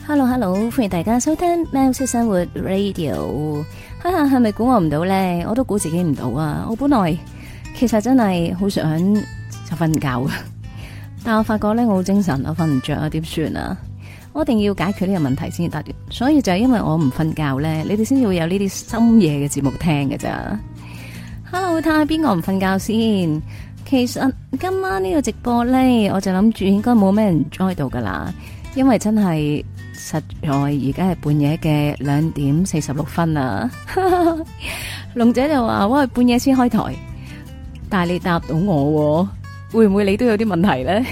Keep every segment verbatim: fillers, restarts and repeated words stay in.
Hello Hello，歡迎大家收聽喵式生活 Radio。哈哈，係咪估我唔到咧？我都估自己唔到啊！我本來其實真係好想就瞓覺啊，但我發覺咧我好精神，我瞓唔着啊，點算啊？我一定要解決呢個問題先得。所以就係因為我唔瞓覺咧，你哋先至會有呢啲深夜嘅節目聽㗎咋。Hello，睇下邊個唔瞓覺先。其實今晚呢個直播咧，我就諗住應該冇咩人 join 到噶啦，因為真係。實在而家係半夜嘅兩點四十六分啊！龍姐就話：喂，半夜先開台，但係你答到我，會唔會你都有啲問題咧？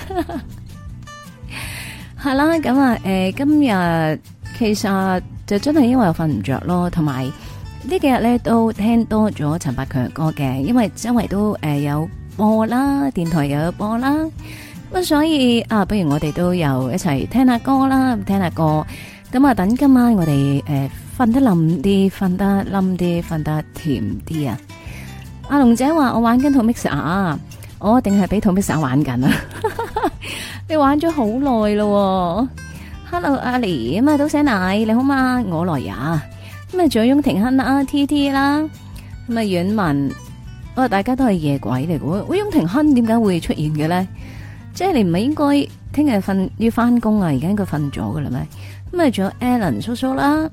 係啦，咁啊，誒，今日其實就真係因為我瞓唔着咯，同埋呢幾日咧都聽多咗陳百強嘅歌嘅，因為周圍都誒有播啦，電台又有播啦。咁所以啊，不如我哋都又一齊聽下歌啦，聽下歌。咁啊，等今晚我哋誒瞓得冧啲，瞓得冧啲，瞓得甜啲啊！阿龍姐話我玩緊套 mixer， 我一定係俾套 mixer 玩緊啊！你玩咗好耐咯。Hello， 阿妮咁啊，早醒奶你好嘛？我來呀。咁啊，仲有翁庭亨啦 ，T T 啦，咁啊，阮文，哦，大家都係夜鬼嚟嘅。喂，翁庭亨點解會出現嘅咧？即係你唔係應該聽日瞓要翻工啊？而家應該瞓咗噶啦咩？咁啊，仲有 Alan 叔叔啦，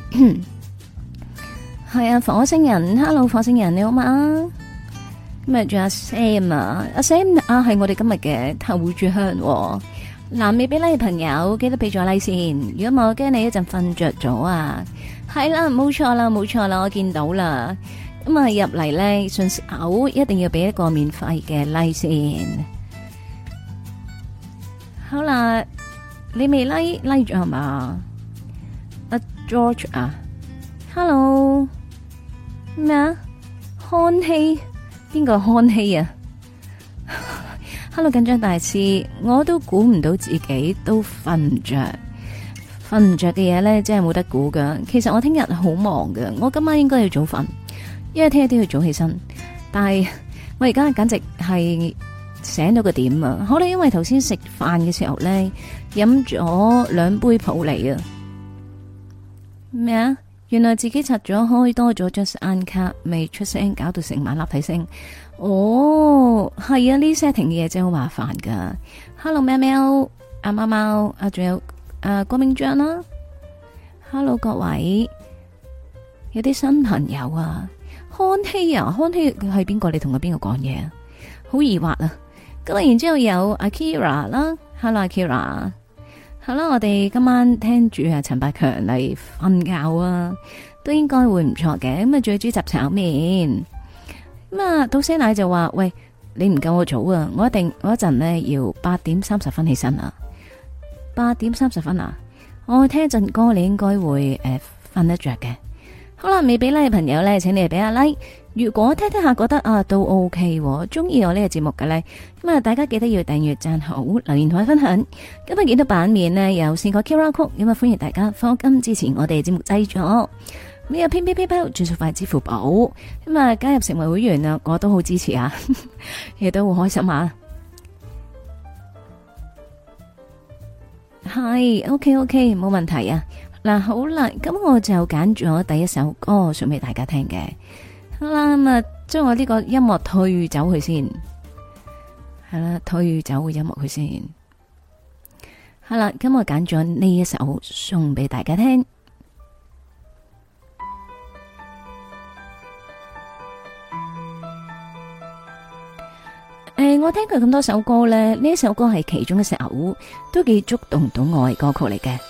係啊，火星人 ，Hello 火星人你好嘛？咁啊，仲有阿 Sam 啊，阿 Sam 啊，係我哋今日嘅頭炷香。嗱，未俾 like 嘅朋友記得俾咗 like 先，如果冇，驚你一陣瞓着咗啊！係啦，冇錯啦，冇錯啦，我見到啦。咁啊，入嚟咧順手一定要俾一個免費嘅 like 先。好啦，你未 like like 咗係嘛？阿 George 啊 ，Hello 咩啊？康熙邊個康熙啊？Hello 緊張大師，我都估唔到自己都瞓唔着，瞓唔着嘅嘢咧真係冇得估噶。其實我聽日好忙噶，我今晚應該要早瞓，因為聽日都要早起身。但係我而家簡直係。醒到個點啊！可能因為頭先食飯嘅時候咧，飲咗兩杯普洱啊。咩啊？原來自己拆咗開多咗張眼卡，未出聲，搞到成晚立體聲。哦，係啊，呢 setting 嘅嘢真係好麻煩噶。Hello， 喵喵，阿貓貓，啊，仲有啊郭明章啦。Hello， 各位，有啲新朋友啊，康熙啊，康熙係邊個？你同佢邊個講嘢啊？好疑惑啊！咁啊，然之後有 Akira 啦 ，Hello Akira， 好啦，我哋今晚聽住啊陳百強嚟瞓覺啊，都應該會唔錯嘅。咁啊，仲有豬雜炒麵。咁啊，到些奶就話：喂，你唔夠我早啊！我一定我一陣呢要八點三十分起身啊！八點三十分啊！我聽一陣歌，你應該會誒瞓、呃、得着嘅。好啦，未俾 like 嘅朋友咧，請你哋俾下 like。如果聽聽下覺得啊都 OK，中意我呢個節目嘅咧，咁啊大家記得要訂閱、讚好、留言同埋分享。今日見到版面呢，有四個 Q R code，咁啊歡迎大家課金支持我哋節目製作。呢個 PayPay 轉數快支付寶，咁啊加入成為會員啊，我都好支持啊，亦都好開心啊。係 OK OK，冇問題啊。嗱好啦，咁我就揀咗第一首歌送俾大家聽嘅。好啦，咁啊，將我呢個音樂退走佢先，係啦，退走個音樂佢先。好啦，咁我揀咗呢一首送俾大家聽。誒、呃，我聽佢咁多首歌咧，呢一首歌係其中一首，都幾觸動到我嘅歌曲嚟嘅。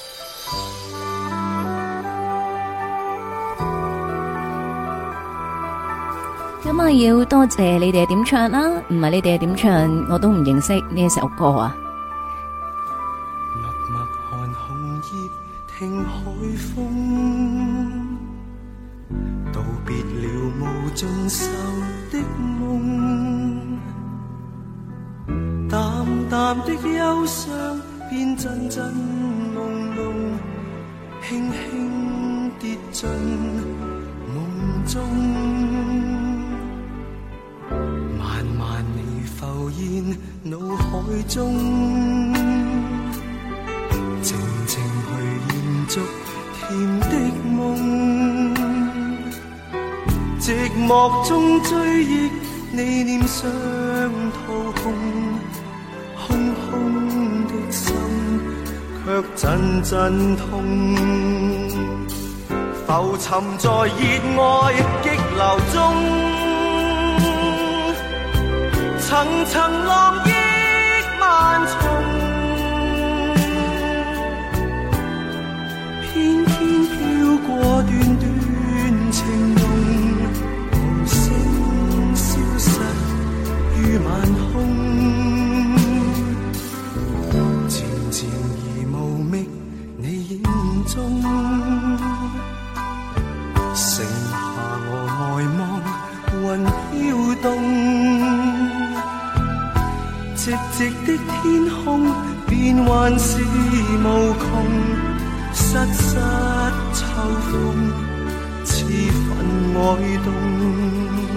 咁啊，要多謝你哋點唱啦，唔係你哋點唱，我都唔認識呢一首歌啊。 默默看紅葉，聽海風，道別了無盡愁的夢，淡淡的憂傷變陣陣朦朧，輕輕跌進夢中。慢慢你浮現腦海中，靜靜續甜的夢，寂寞中追憶你臉上桃紅，空空的心卻陣陣痛，浮沉在熱愛激流中，層層浪億萬重，偏偏飄過段段情濃，無聲消失於晚空，漸漸而無覓你影蹤，剩下我呆望雲飄動，寂寂的天空變幻是無窮，瑟瑟秋風似分愛動，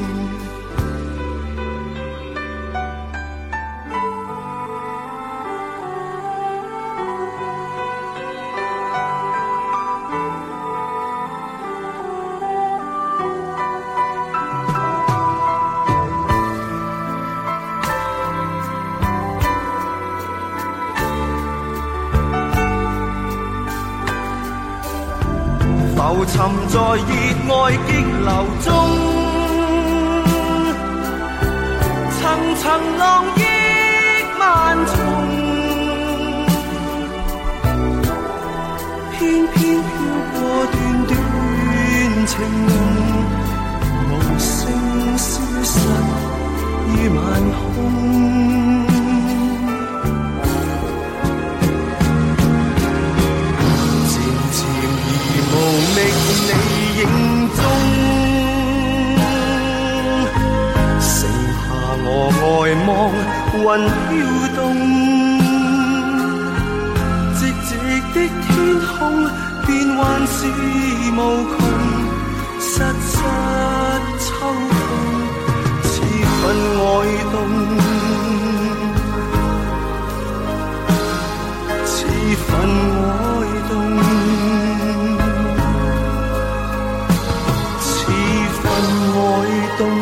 浮沉在熱愛激流中，層層浪億萬重，偏偏飄過段段情濃，無聲消失於晚空，無覓你影蹤，剩下我呆望雲飄動，寂寂的天空變幻是無窮，瑟瑟秋風似分愛動，似分愛動，愛動。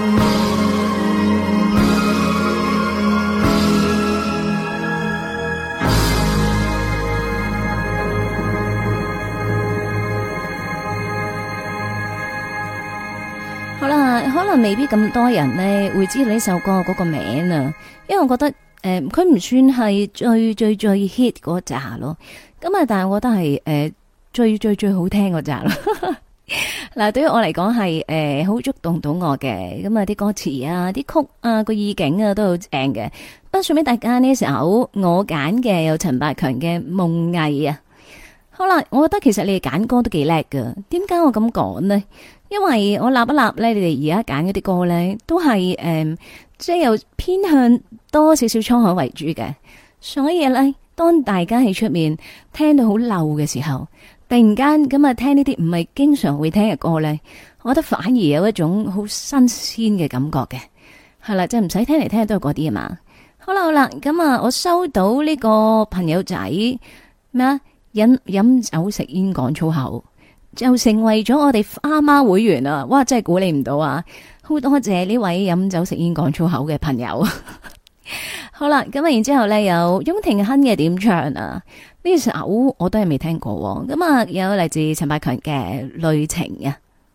好啦，可能未必咁多人呢會知道呢首歌嗰個名啊，因為我覺得誒佢唔算係最最最 hit 嗰扎咯，咁啊但係我覺得係誒、呃、最最最好聽嗰扎咯。嗱，對於我嚟講係誒好觸動到我嘅，咁啊啲歌詞啊、啲曲啊、個意境啊都好正嘅。不過送俾大家呢首我揀嘅有陳百強嘅《夢囈》啊。好啦，我覺得其實你哋揀歌都幾叻噶。點解我咁講呢？因為我立一立咧，你哋而家揀嗰啲歌咧，都係誒即係有偏向多少少滄海為主嘅。所以咧，當大家喺出面聽到好漏嘅時候，突然間咁啊，聽呢啲唔係經常會聽嘅歌咧，我覺得反而有一種好新鮮嘅感覺嘅，係啦，即係唔使聽嚟聽去都係嗰啲啊嘛。好啦好啦，咁啊，我收到呢個朋友仔咩啊，飲飲酒食煙講粗口，就成為咗我哋花媽會員啊！哇，真係估你唔到啊！好多謝呢位飲酒食煙講粗口嘅朋友。好啦，咁啊，然之後咧有翁廷亨嘅點唱啊。呢首我都係未聽過，咁啊有嚟自陳百強嘅《淚情》啊。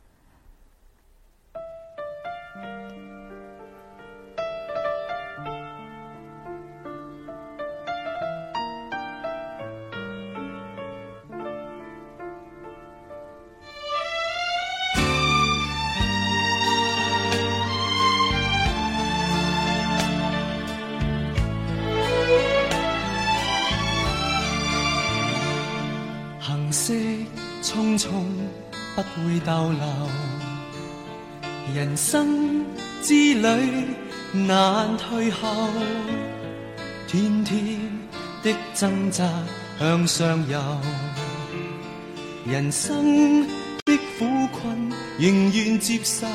色匆匆不會逗留，人生之旅難退後，天天的掙扎向上游，人生的苦困仍願接受，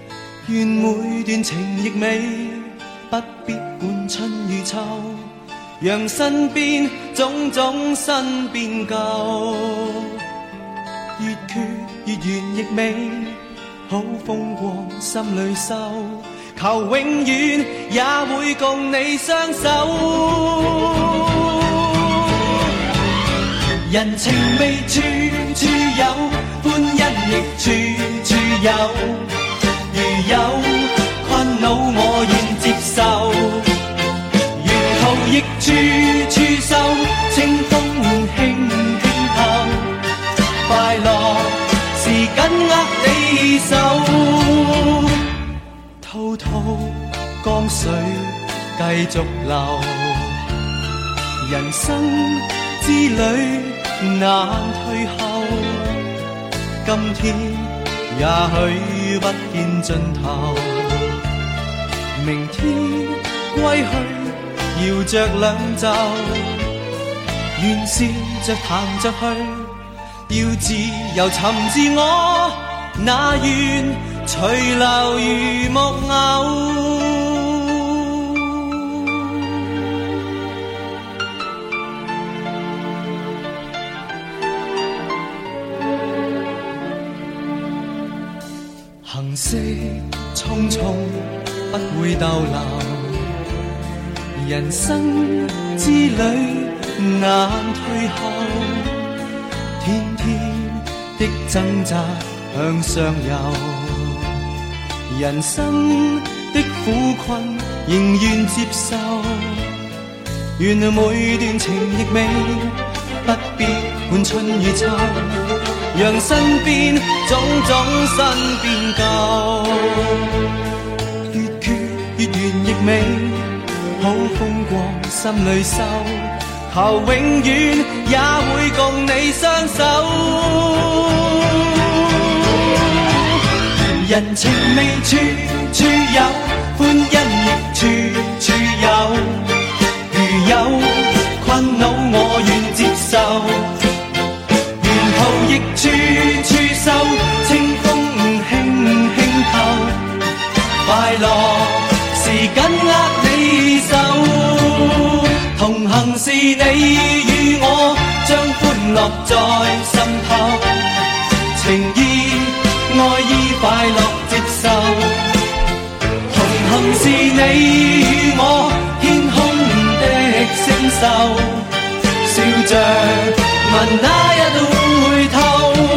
願每段情亦美，不必管春與秋， 讓身邊種種新變舊，越缺越圓亦美，好風光心裏收，求永遠也會共你相守。人情味處處有，歡欣亦處處有，如有困惱我願接受，沿途亦處處收，清風輕輕透，快樂是緊握你手，滔滔江水繼續流，人生之旅難退後，今天也許不見盡頭，明天歸去搖着兩袖，願笑着談着去，要自由尋自我，那願隨流如木偶。行色匆匆不會逗留，人生之旅難退後，天天的掙扎向上游，人生的苦困仍願接受，願每段情亦美，不必管春與秋，讓身邊種種新變舊，越缺越圓亦美，好風光心裏收，求永遠也會共你相守。人情味處處有，歡欣亦處處有，如有困惱我願接受，亦處處收，清風輕輕透，快樂是緊握你手，同行是你與我，將歡樂在心頭，情意愛意快樂接受，同行是你與我，天空的星宿，笑着問那一度回頭。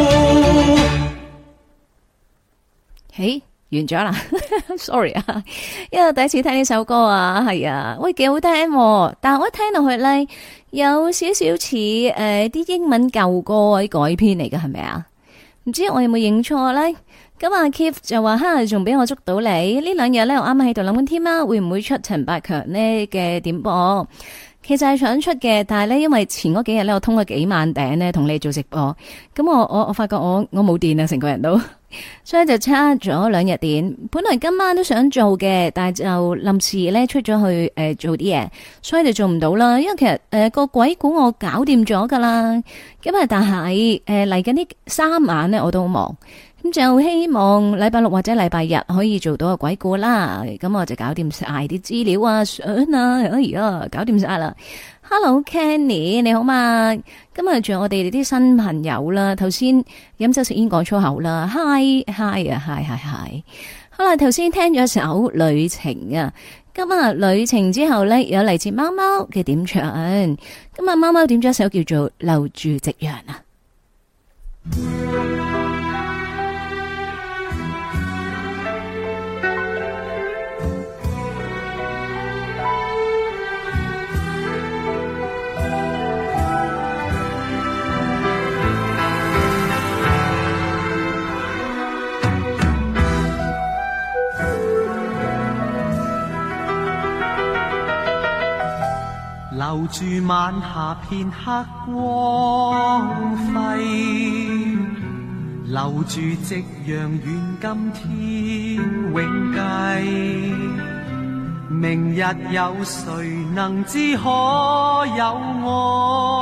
誒，完咗啦，sorry 啊，因為第一次聽呢首歌啊，係啊，喂，幾好聽喎，但係我一聽落去咧，有少少似誒啲英文舊歌啲改編嚟嘅，係咪啊？唔知我有冇認錯咧？咁阿 Keith 就話哈，仲俾我捉到你呢兩日咧，我啱啱喺度諗緊添啦，會唔會出陳百強呢嘅點播？其實係想出嘅，但係咧，因為前嗰幾日咧，我通咗幾萬頂咧，同你做直播，咁我我我發覺我我冇電啊，成個人都，所以就差咗兩日電。本來今晚都想做嘅，但係就臨時咧出咗去誒、呃、做啲嘢，所以就做唔到啦。因為其實誒、呃、個鬼故我搞掂咗噶啦，咁啊但係誒嚟緊呢三晚咧我都好忙。咁就希望禮拜六或者禮拜日可以做到個鬼故啦，咁我就搞掂晒啲資料啊、相啊，哎呀，搞掂晒啦。Hello Kenny，你好嘛？今日仲有我哋啲新朋友啦，頭先飲酒食煙講粗口啦 ，Hi Hi 啊 Hi Hi Hi， 好啦，頭先聽咗首旅程啊，今日旅程之後呢，有嚟自貓貓嘅點唱，今日貓貓點咗一首叫做留住夕陽啊。 留住晚霞片刻光輝，留住夕陽願今天永繼。明日有誰能知可有我，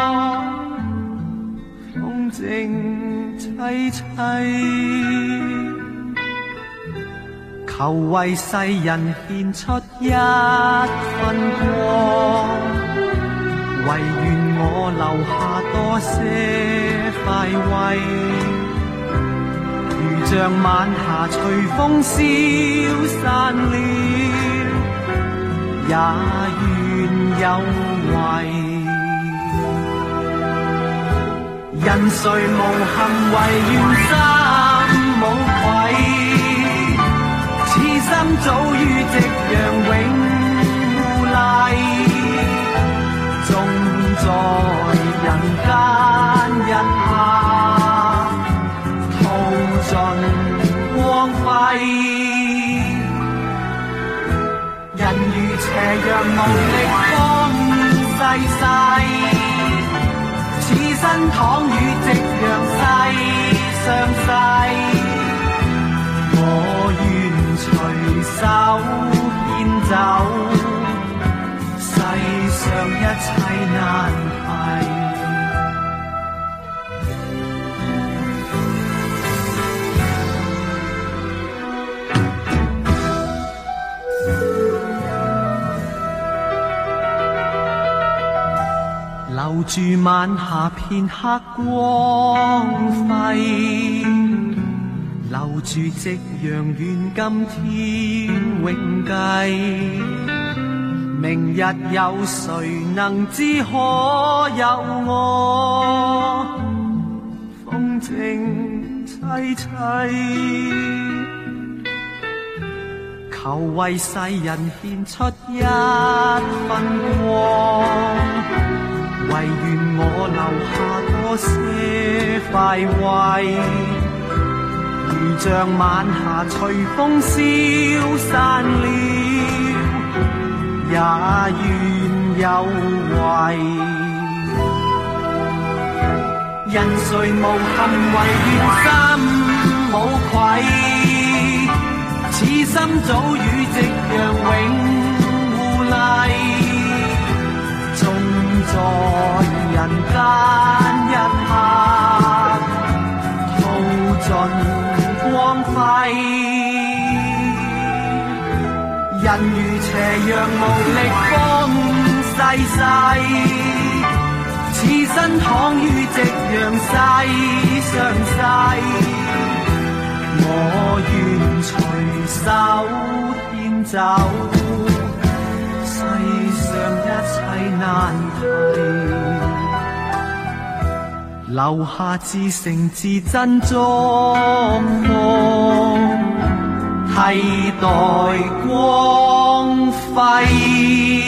風靜凄凄，求為世人獻出一分光， 唯願我留下多些快慰，如像晚霞隨風消散了，也願有為。人誰無憾唯願心無愧，此心早於夕陽永互麗，縱在人間一刻耗盡光輝。人如斜陽無力方逝世，此身躺於夕陽西上世，我願隨手牽走世上一切難題。留住晚霞片刻光輝，留住夕陽願今天永繼。明日有誰能知可有我風靜凄凄，求為世人獻出一分光，唯願我留下多些快慰，如像晚霞隨風消散了，也願有為。人誰無憾唯願心無愧，此心早與夕陽永互麗，縱在人間一刻耗盡光輝。人如斜陽無力方逝世，此身躺於夕陽西上世，我願隨手牽走世上一切難題，留下至誠至真作夢，替代光輝。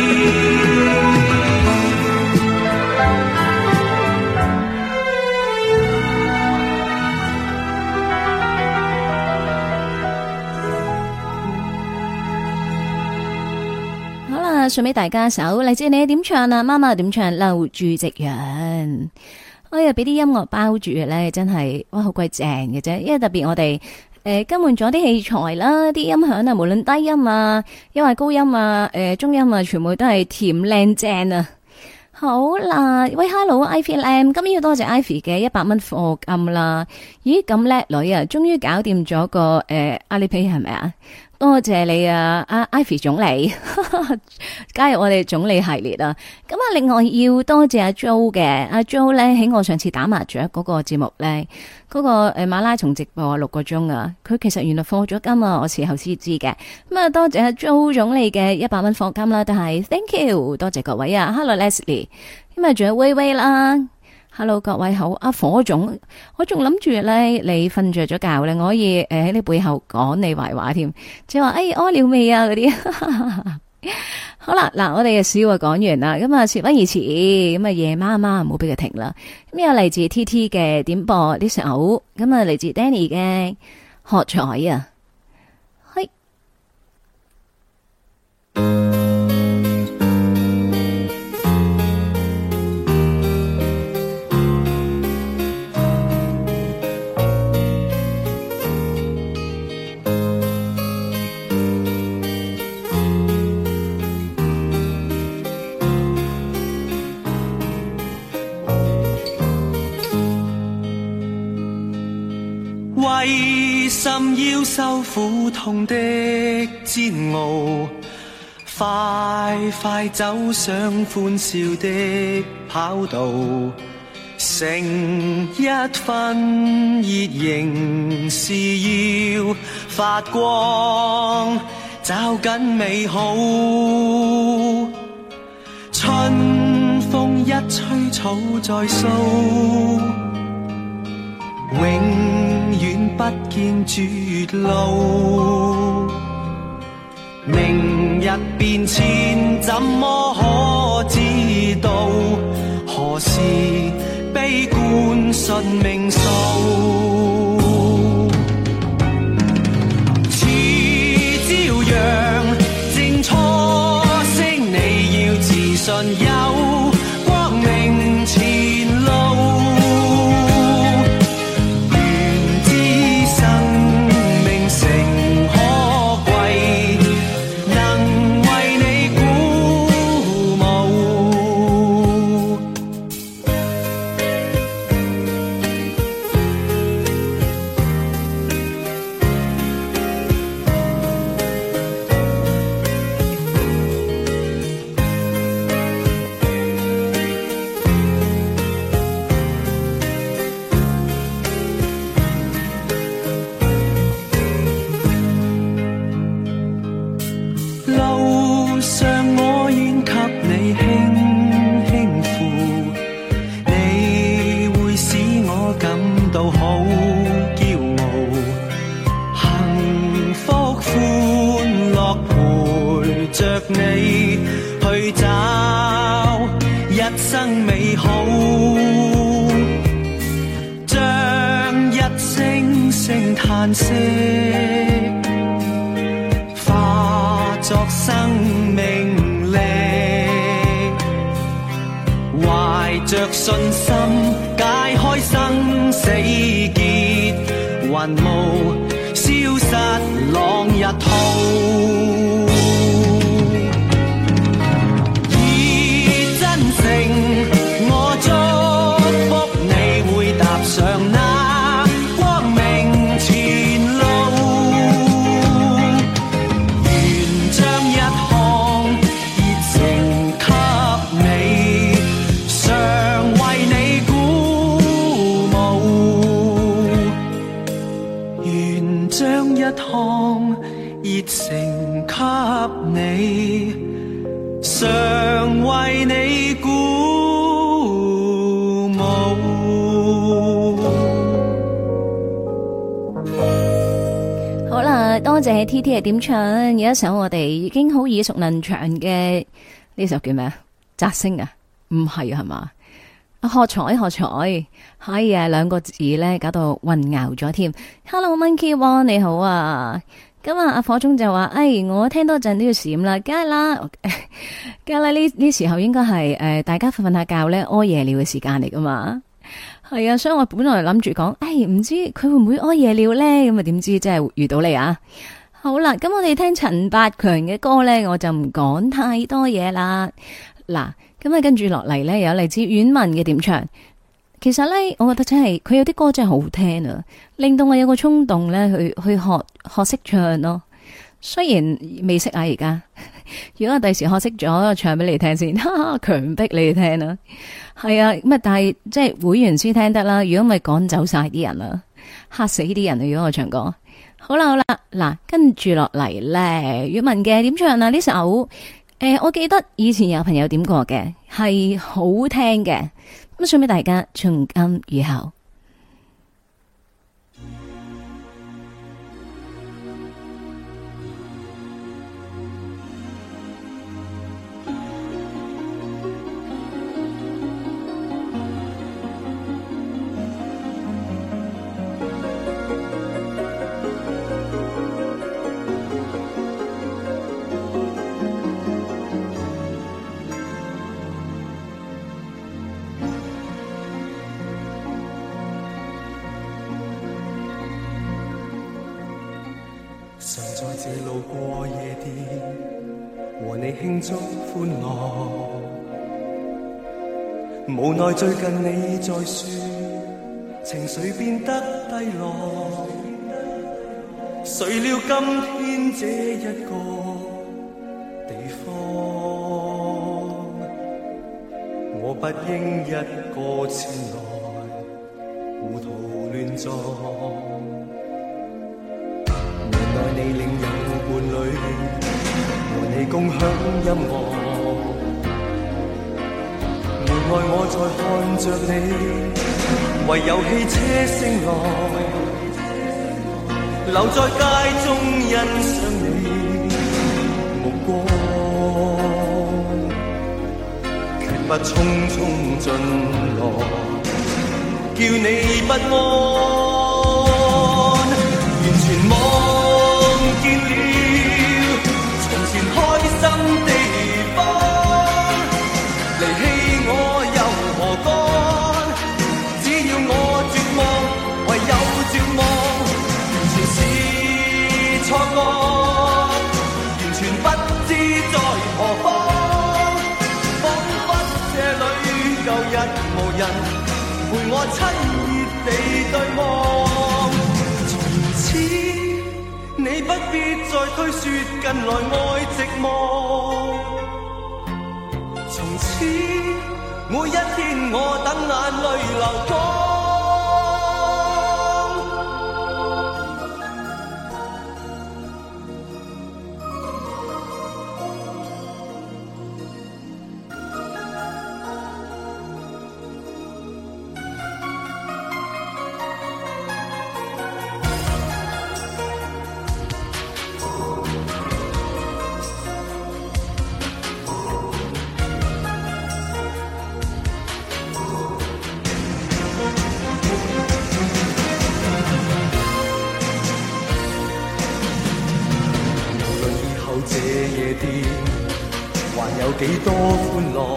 好啦，送俾大家一首嚟自你點唱啊？媽媽點唱？留住夕陽。哎呀，俾啲音樂包住嘅咧，真係哇，好鬼正嘅啫！因為特別我哋。誒，更換咗啲器材啦，啲音響啊，無論低音啊，因為高音啊，誒、呃，中音啊，全部都係甜靚正啊！好啦，喂 ，Hello，Ivy Lam，今日要多謝 Ivy 嘅一百蚊課金啦！咦，咁叻女啊，終於搞掂咗個誒阿里 Pay 係咪啊？多謝你啊，阿 Ivy 總理加入我哋總理系列啊！咁啊，另外要多謝阿 Jo 嘅，阿 Jo 咧喺我上次打麻雀嗰個節目咧，嗰、嗰個誒馬拉松直播六個鐘啊，佢其實原來課咗金啊，我事後先知嘅。咁啊，多謝阿 Jo 總理嘅一百蚊課金啦，都係 thank you， 多謝各位啊 ，Hello Leslie， 咁啊仲有威威啦。Hello 各位好，阿火總，我仲諗住咧，你瞓着咗覺咧，我可以誒喺你背後講你壞話添，即係話誒屙尿未啊嗰啲。好啦，嗱我哋嘅笑話講完啦，咁啊事不宜遲，咁啊夜媽媽唔好俾佢停啦。咁有嚟自 T T 嘅點播呢首，咁啊嚟自 Danny 嘅喝彩啊，係。 為甚要受苦痛的煎熬？ 快快走上歡笑的跑道，成一分熱仍是要發光，找緊美好。春風一吹草再蘇，永遠不見絕路。明日變遷怎麼可知道？何時悲觀信命數？似朝陽正初升，你要自信有光明前路。願知生命誠可貴，能為你鼓舞。路上我願給你輕輕扶，你會使我感到好驕傲。幸福歡樂陪着你去找一生美好，將一聲聲嘆息化作生命力，懷着信心解開生死結，雲霧消失朗日圖。以真誠我祝福你會踏上那光明前路。將一項熱誠給你，常為你鼓舞。 好啦，多謝 T T 嘅點唱，有一首我哋已經好耳熟能詳嘅呢首叫咩啊？摘星啊？唔係啊，係嘛？喝彩喝彩，係啊，兩個字咧搞到混淆咗添。Hello Monkey One 你好啊，今日阿火中就話，哎，我聽多陣都要閃啦，梗係啦，梗係啦，呢呢時候應該係誒大家瞓瞓下覺咧屙夜尿嘅時間嚟噶嘛，係啊，所以我本來諗住講，哎，唔知佢會唔會屙夜尿咧，咁啊點知真係遇到你啊！好啦，咁我哋聽陳百強嘅歌咧，我就唔講太多嘢啦，嗱。咁啊，跟住落嚟咧，有嚟自阮文嘅點唱。其實咧，我覺得真係佢有啲歌真係好聽啊，令到我有個衝動咧去去學學識唱咯。雖然未識啊，而家如果我第時學識咗，唱俾你聽先，哈哈，強迫你哋聽啦。係啊，咁啊，但係即係會員先聽得啦。如果咪趕走晒啲人啦，嚇死啲人啊！如果我唱歌，好啦好啦，嗱，跟住落嚟咧，阮文嘅點唱啊？呢首。誒、呃，我記得以前有朋友點過嘅，係好聽嘅，咁送俾大家，從今以後。 常在這路過夜店，和你慶祝歡樂。無奈最近你在說，情緒變得低落。誰料今天這一個地方， 我不應一個前來糊塗亂撞。原來你另有伴侶，和你共享音樂。門外我在看着你，唯有汽車聲浪，留在街中欣賞你目光，決不匆匆進來，叫你不安，完全忘見了從前開心地方，離棄我又何干？只要我絕望，唯有絕望，完全是錯覺，完全不知在何方，彷彿這裏舊日無人陪我親熱地對望。從此你不必再推說近來愛寂寞，從此每一天我等眼淚流光。這夜店還有幾多歡樂，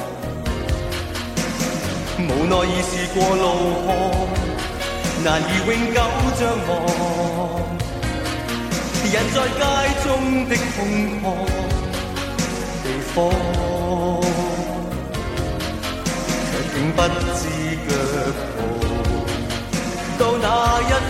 無奈已是過路河，難以永久將忘。人在街中的空曠地方，卻竟不知腳步到哪一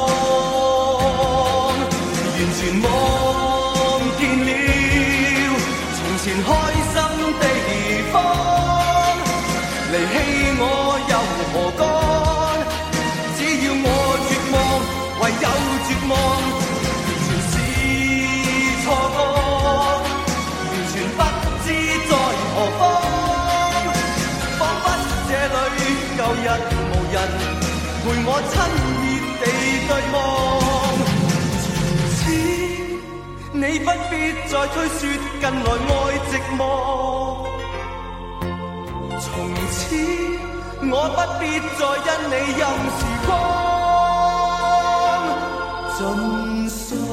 方，完全忘見了從前開心地方，離棄我又何干？只要我絕望，唯有絕望，完全是錯覺，完全不知在何方，彷彿這裏舊日無人陪我親熱地對望。你不必再推說近來愛寂寞，從此我不必再因你任時光盡訴。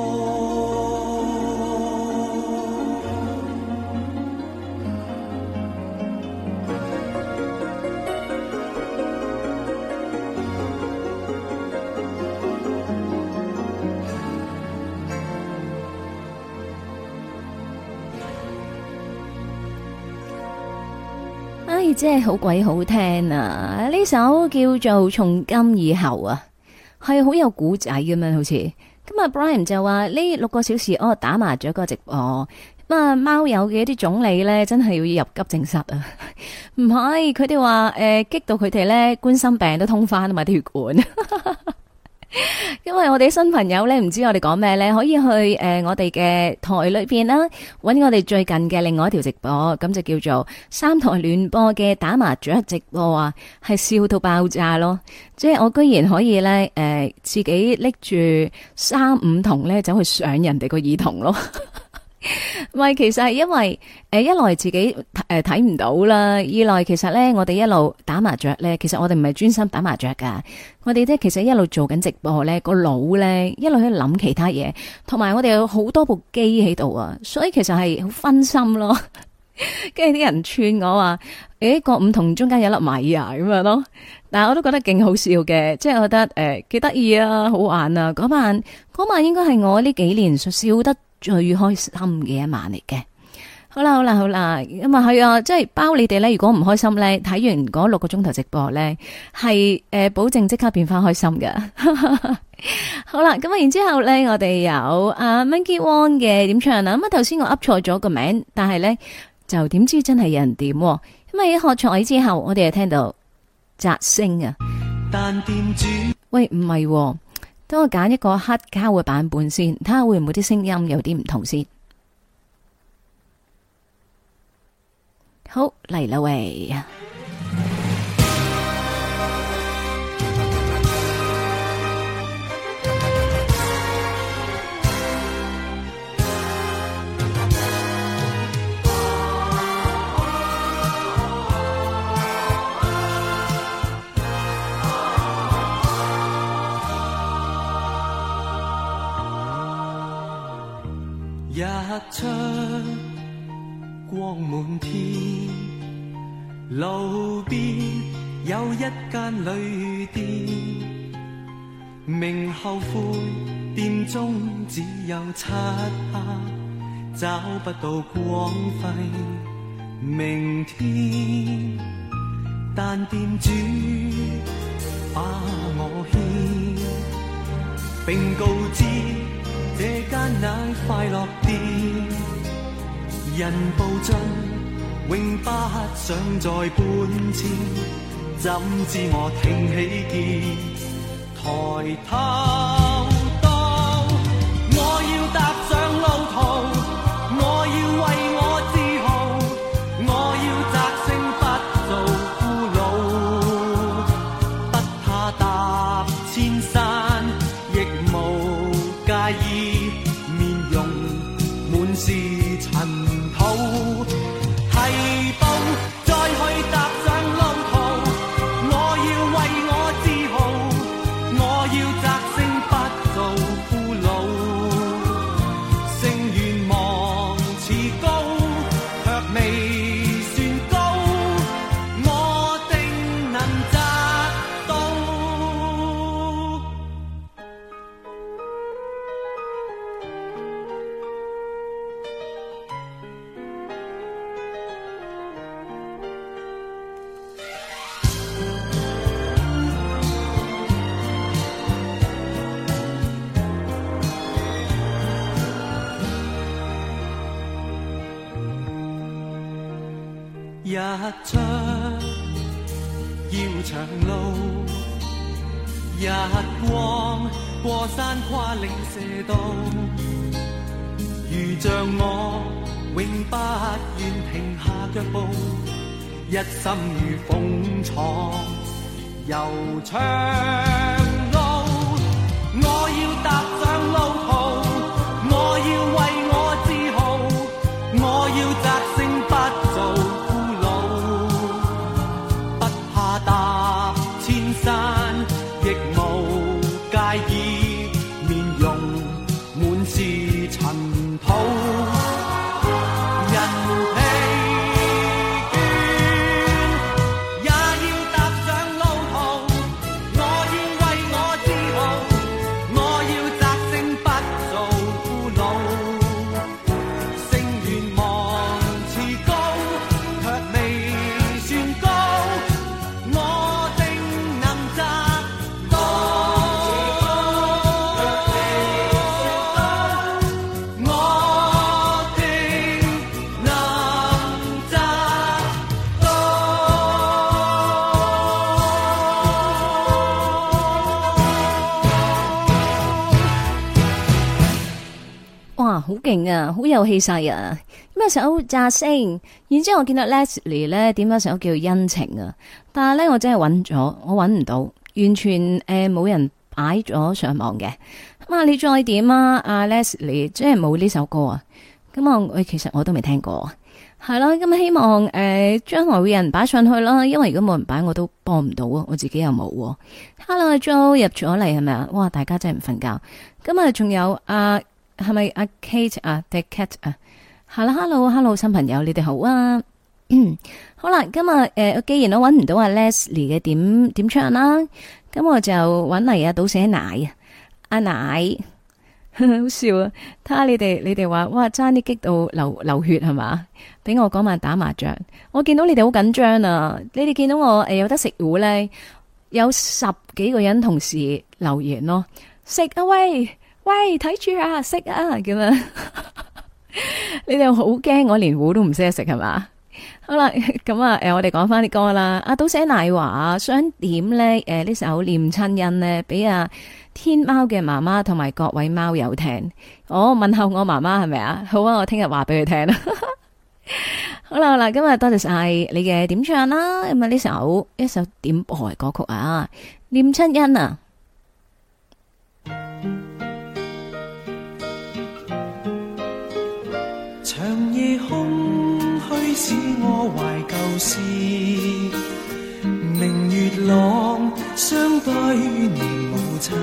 真係好鬼好聽啊！呢首叫做《從今以後》啊，係好有古仔咁樣，好似咁啊。Brian 就話呢六個小時哦打麻雀個直播，咁啊貓友嘅一啲總理咧，真係要入急症室啊！唔係，佢哋話誒激到佢哋咧冠心病都通翻啊嘛啲血管。因為我哋新朋友咧唔知我哋講咩咧，可以去誒、呃、我哋嘅台裏邊啦，揾我哋最近嘅另外一條直播，咁就叫做三台聯播嘅打麻雀直播啊，係笑到爆炸咯！即係我居然可以咧誒、呃、自己拎住三五筒咧走去上人哋個耳筒咯。唔係，其實係因為誒一來自己誒睇唔到啦，二來其實咧我哋一路打麻雀咧，其實我哋唔係專心打麻雀噶，我哋咧其實一路做緊直播咧，個腦咧一路喺度諗其他嘢，同埋我哋有好多部機喺度啊，所以其實係好分心咯。跟住啲人串我話，誒個五筒中間有粒米啊咁樣咯，但係我都覺得勁好笑嘅，即係我覺得誒幾得意啊，好玩啊！嗰晚嗰晚應該係我呢幾年笑得最開心嘅一晚嚟嘅。好啦好啦好啦，咁啊係啊，即係包你哋咧。如果唔開心咧，睇完嗰六個鐘頭直播咧，係誒保證即刻變翻開心嘅。好啦，咁啊然之後咧，我哋有阿 Monkey Wong 嘅點唱啊。咁啊頭先我噏錯咗個名，但係咧就點知真係有人點，咁咁啊，喺喝彩之後，我哋就聽到雜聲啊。 但店主喂，唔係喎，等我揀一個黑膠嘅版本先，睇下會唔會啲聲音有啲唔同先。好，嚟啦喂！ 日出光滿天，路邊有一間旅店，明後悔店中只有漆黑，找不到光輝明天，但店主把我牽，並告知這間乃快樂店，人步進永不想再搬遷，怎知我挺起肩，抬頭到我要踏上路途，我要為我自豪，我要摘星不做俘虜，不怕踏千山亦無介意，面容滿是塵土，提步再去踏上路途，我要為我自豪，我要摘星不做俘虜，勝願望似高，卻未算高，我定能摘到。日出要長路，日光過山跨嶺射道，如像我永不願停下腳步，一心如風闖悠長路，我要踏上路途，我要為我自豪，我要摘星不做踏千山亦無介意，面容滿是塵土，人疲倦也要踏上路途，我要為我自豪，我要摘星不做俘虜，勝願望似高，卻未算高，我定能摘到，我定能摘到。 哇，好勁啊，好有氣勢啊！咩首炸聲，然之後我見到 Leslie 咧點咗首叫恩情啊，但係咧我真係揾咗，我揾唔到，完全誒冇、呃、人擺咗上網嘅。咁啊，你再點啊？阿 Leslie 即係冇呢首歌啊。咁啊，我其實我都未聽過，係啦。咁希望誒將來會有人擺上去啦，因為如果冇人擺，我都幫唔到啊，我自己又冇。Hello，阿 Jo 入咗嚟係咪啊？哇，大家真係唔瞓覺。咁啊，仲有阿係咪阿 Kate 啊 The Cat 啊？係啦 ，Hello Hello， 新朋友你哋好啊。好啦，今日誒、呃，既然我揾唔到阿 Leslie 嘅點點唱啦，咁我就揾嚟阿倒寫奶啊，阿奶。好笑啊！睇下你哋，你哋話哇，爭啲激到流流血係嘛？俾我嗰晚打麻雀，我見到你哋好緊張啊！你哋見到我誒、呃、有得食糊咧，有十幾個人同時留言咯，食啊喂喂，睇住啊，食啊咁樣。你哋好驚我連糊都唔識得食係嘛？ 好啦，咁啊，誒，我哋講翻啲歌啦。阿倒寫奶華想點咧？誒，呢首《念親恩》咧，俾阿天貓嘅媽媽同埋各位貓友聽。我問候我媽媽係咪啊？好啊，我聽日話俾佢聽啦。好啦好啦，今日多謝晒你嘅點唱啦。咁啊，呢首一首點播嘅歌曲啊，《念親恩》啊。 長夜空虛使我懷舊事，明月朗相對念母親，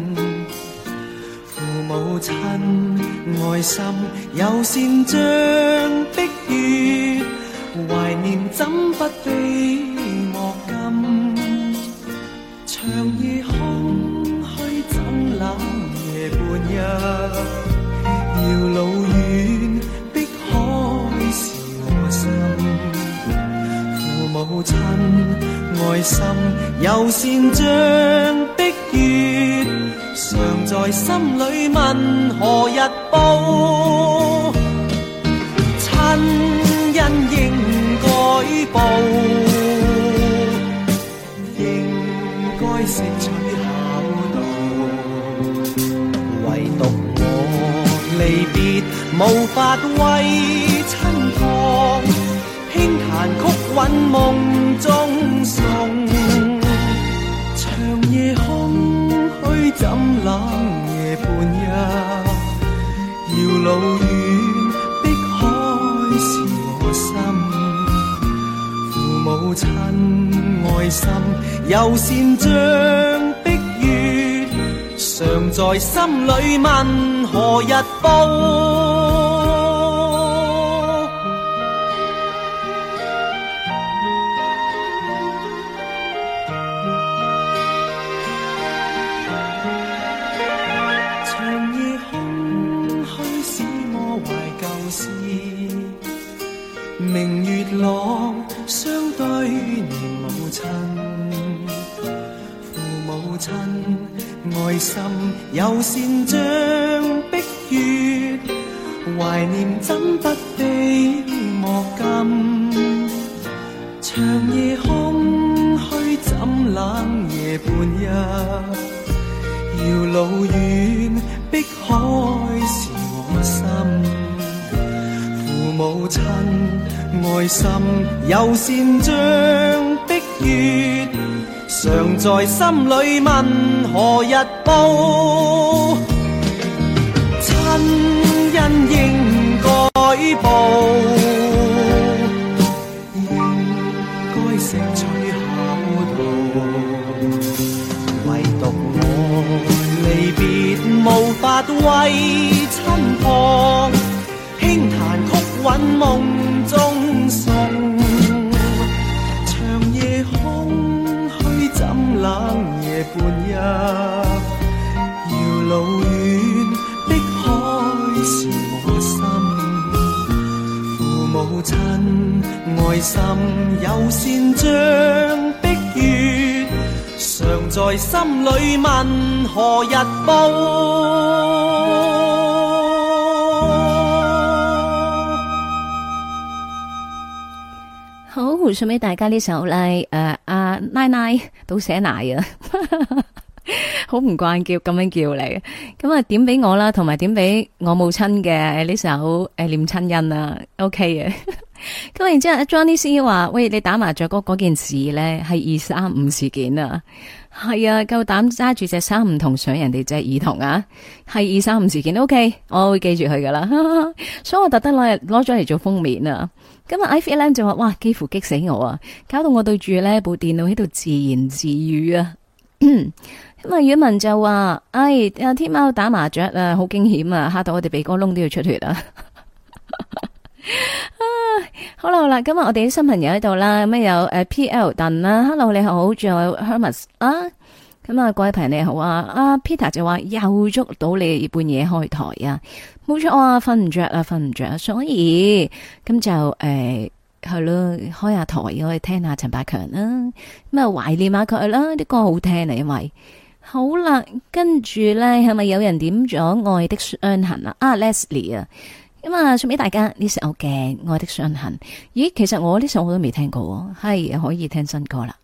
父母親愛心有善像碧月，懷念怎不比莫禁，長夜空虛怎冷夜半日，遙路遠是我心，父母親愛心有善像碧月，常在心裏問何日報，親恩應該報，應該識取孝道，唯獨我離別無法為親旁，輕彈曲韻夢中送，長夜空虛怎冷夜半日，遙路遠碧海是我心，父母親愛心有善像碧月，常在心裏問何日報，明月朗相對念母親，父母親愛心有善像碧月，懷念怎不比莫禁，長夜空虛怎冷夜半日，遙路遠碧海是我心，父母親愛心有善像碧月，常在心裏問何日報，親恩應該報，應該識取孝道，唯獨我離別無法為親旁，輕彈曲韻夢中送，長夜空虛怎冷夜半日，遙路遠碧海是我心，父母親愛心有善像碧月，常在心裏問何日報。 好，送俾大家呢首咧，誒，阿奶奶倒寫奶啊，好唔慣叫咁樣叫你，咁啊點俾我啦，同埋點俾我母親嘅呢首誒念親恩啊 ，OK 嘅。咁然之後 Johnny C 話，喂，你打麻雀嗰嗰件事咧係二三五事件啊，係啊，夠膽揸住隻衫唔同上人哋隻耳筒啊，係二三五事件 ，OK，我會記住佢噶啦，所以我特登攞攞咗嚟做封面啊。今日 I F L 就話，哇，幾乎激死我啊！搞到我對住呢部電腦喺度自言自語啊。咁啊，宇文就話，哎，阿天貓打麻雀啊，好驚險啊，嚇到我哋鼻哥窿都要出血啊！啊，好啦好啦，今日我哋啲新朋友喺度啦，咁有誒 P L 鄧啦 ，Hello 你好，仲有 Hermes 啊，咁啊各位朋友你好啊，阿 Peter 就話又捉到你半夜開台啊。冇錯啊，瞓唔着啊，瞓唔着啊，所以咁就誒係咯，開下台可以聽下陳百強啦，咁啊懷念下佢啦，啲歌好聽啊，因為好啦，跟住咧係咪有人點咗愛的傷痕啊？啊 Leslie 啊， 咁啊，送俾大家呢首嘅《愛的傷痕》。咦，其實我呢首我都未聽過，係可以聽新歌啦。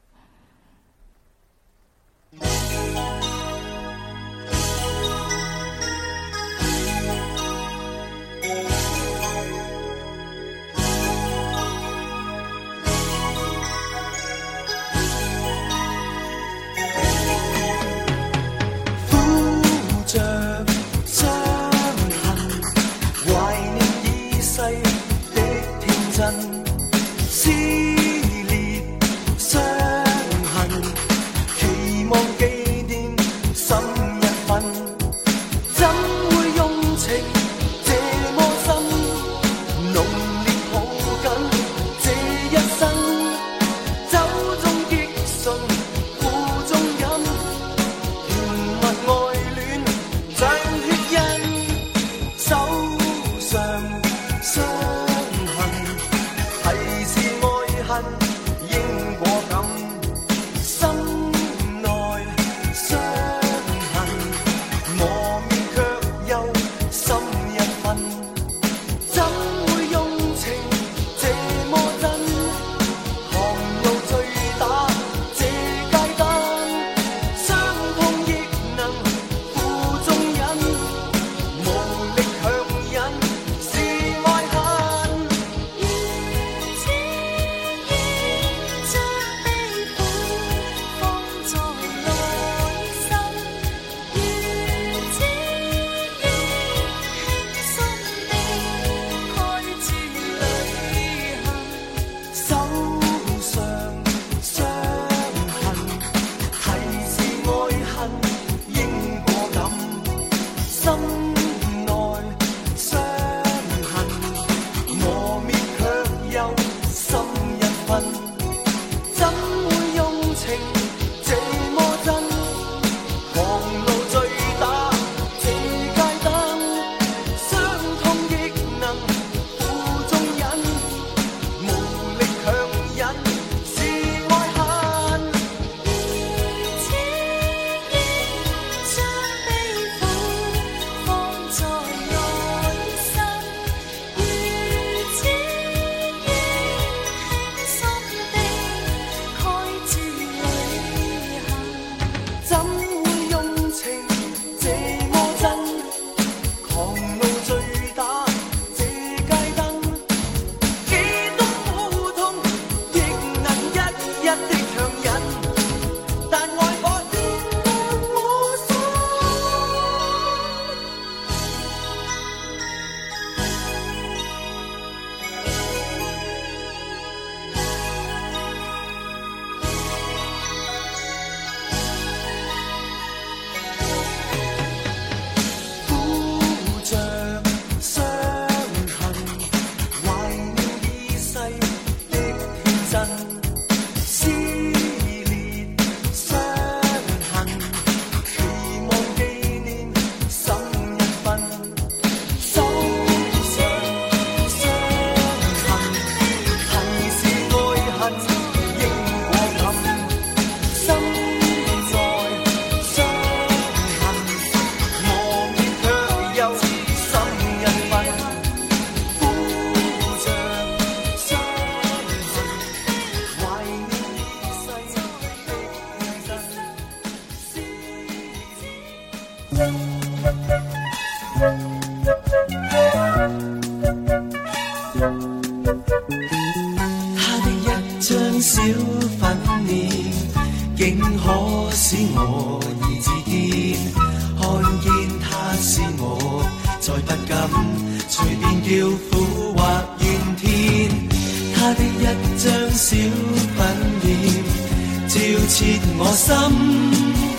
小粉面，竟可使我意志堅。看見他是我，再不敢隨便叫苦或怨天。他的一張小粉面，照切我心，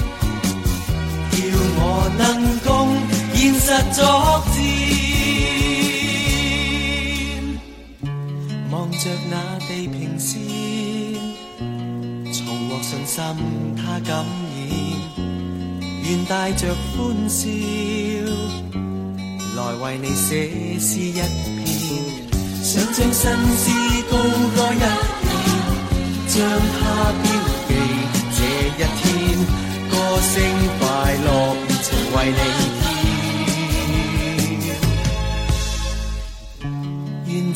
叫我能共現實作戰。望着那地平線，重獲信心他感染，願帶着歡笑來為你寫詩一篇，想將新詩高歌一遍，將它標記這一天，歌聲快樂熱情為你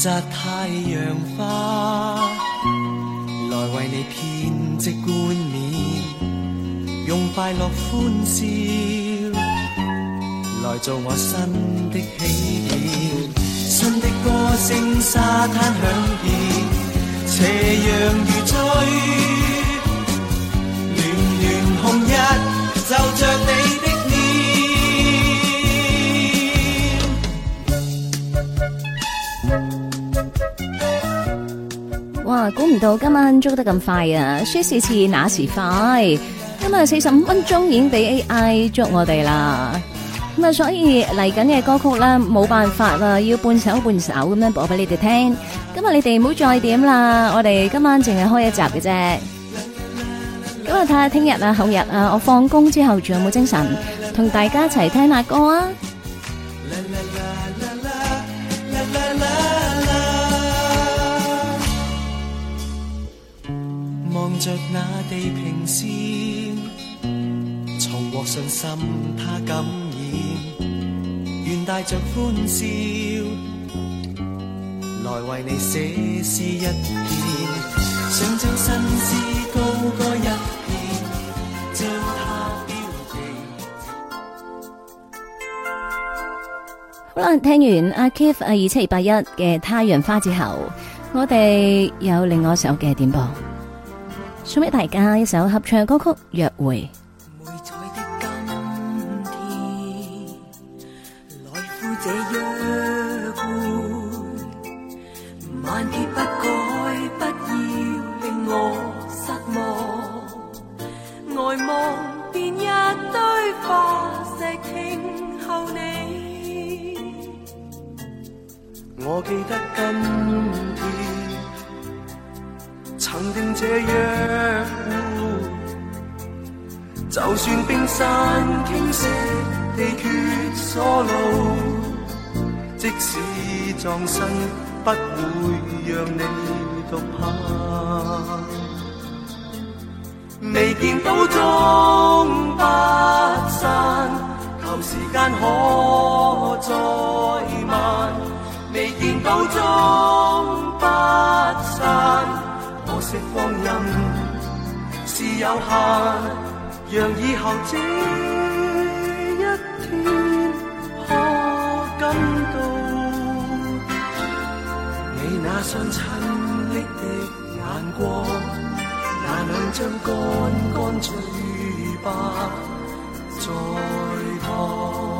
擇太陽花，來為你編織冠冕，用快樂歡笑來做我新的起點。新的歌聲沙灘響遍，斜陽如醉，暖暖紅日就着你的哇！估唔到今晚捉得咁快啊！說時遲那時快，今日四十五分鐘已經俾 A I 捉我哋啦。咁啊，所以嚟緊嘅歌曲咧，冇辦法啦，要半首半首咁樣播俾你哋聽。今日你哋唔好再點啦，我哋今晚淨係開一集嘅啫。咁啊，睇下聽日啊、後日啊，我放工之後仲有冇精神同大家一齊聽下歌啊！ 望着那地平線，重獲信心他感染，願帶着歡笑來為你寫詩一篇，想將新詩高歌一遍，將它標記。 好啦，聽完阿 Keith 啊二七二八一嘅《太陽花》之後，我哋有另外一首嘅點播。送俾大家一首合唱歌曲《約會》。 每彩的今天，來赴這約會，萬劫不改，不要令我失望。呆望便一堆化石停候你。 我記得今天曾定這約會，就算冰山傾瀉，地缺疏路，即使葬身不會讓你獨行。未見到終不散，求時間可再慢。未見到終不散，可惜光陰是有限，讓以後這一天可感到你那雙親昵的眼光，那兩張乾乾嘴巴在旁，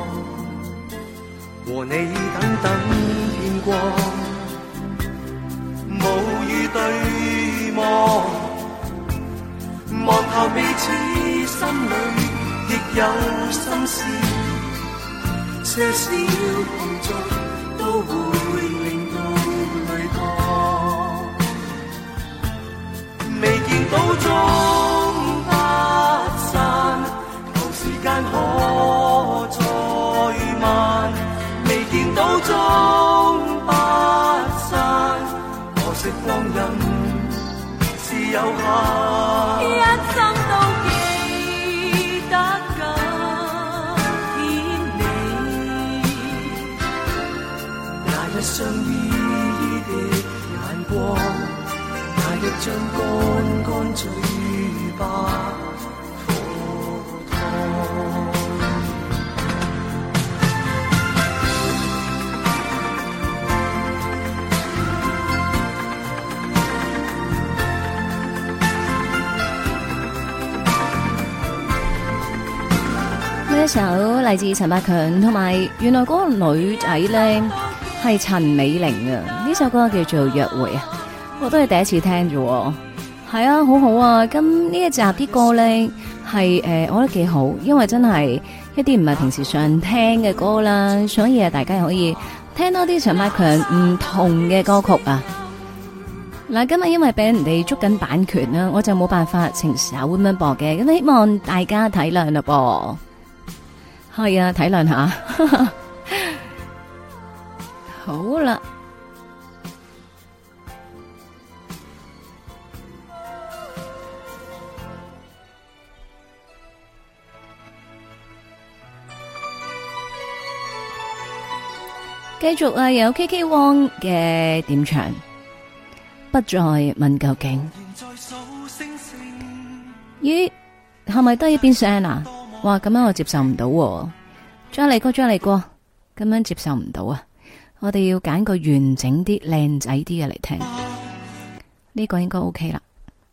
和你等等天光，無語對望，望後彼此心裏亦有心事，些少碰觸都會令到淚淌。未見到終不散，求時間可再慢。未見到終不散，可惜光陰是有限， 一生都記得今天你那一雙依依的眼光，那一張乾乾嘴巴火燙。 呢一首嚟自陳百強，同埋原來嗰個女仔咧係陳美玲啊！呢首歌叫做《約會》啊，我都係第一次聽啫。係啊，好好啊！咁呢一集啲歌咧係誒，我覺得幾好，因為真係一啲唔係平時常聽嘅歌啦，所以啊，大家可以聽多啲陳百強唔同嘅歌曲啊。嗱，今日因為俾人哋捉緊版權啦，我就冇辦法成首咁樣播嘅，咁希望大家體諒啦噃。係啊，體諒下。好啦， 繼續啊，有 K K Wong 嘅點唱，不再問究竟。咦，係咪得一邊聲啊？哇，咁樣我接受唔到喎。再嚟過，再嚟過，咁樣接受唔到啊！我哋要揀個完整啲、靚仔啲嘅嚟聽，呢個應該 OK 啦。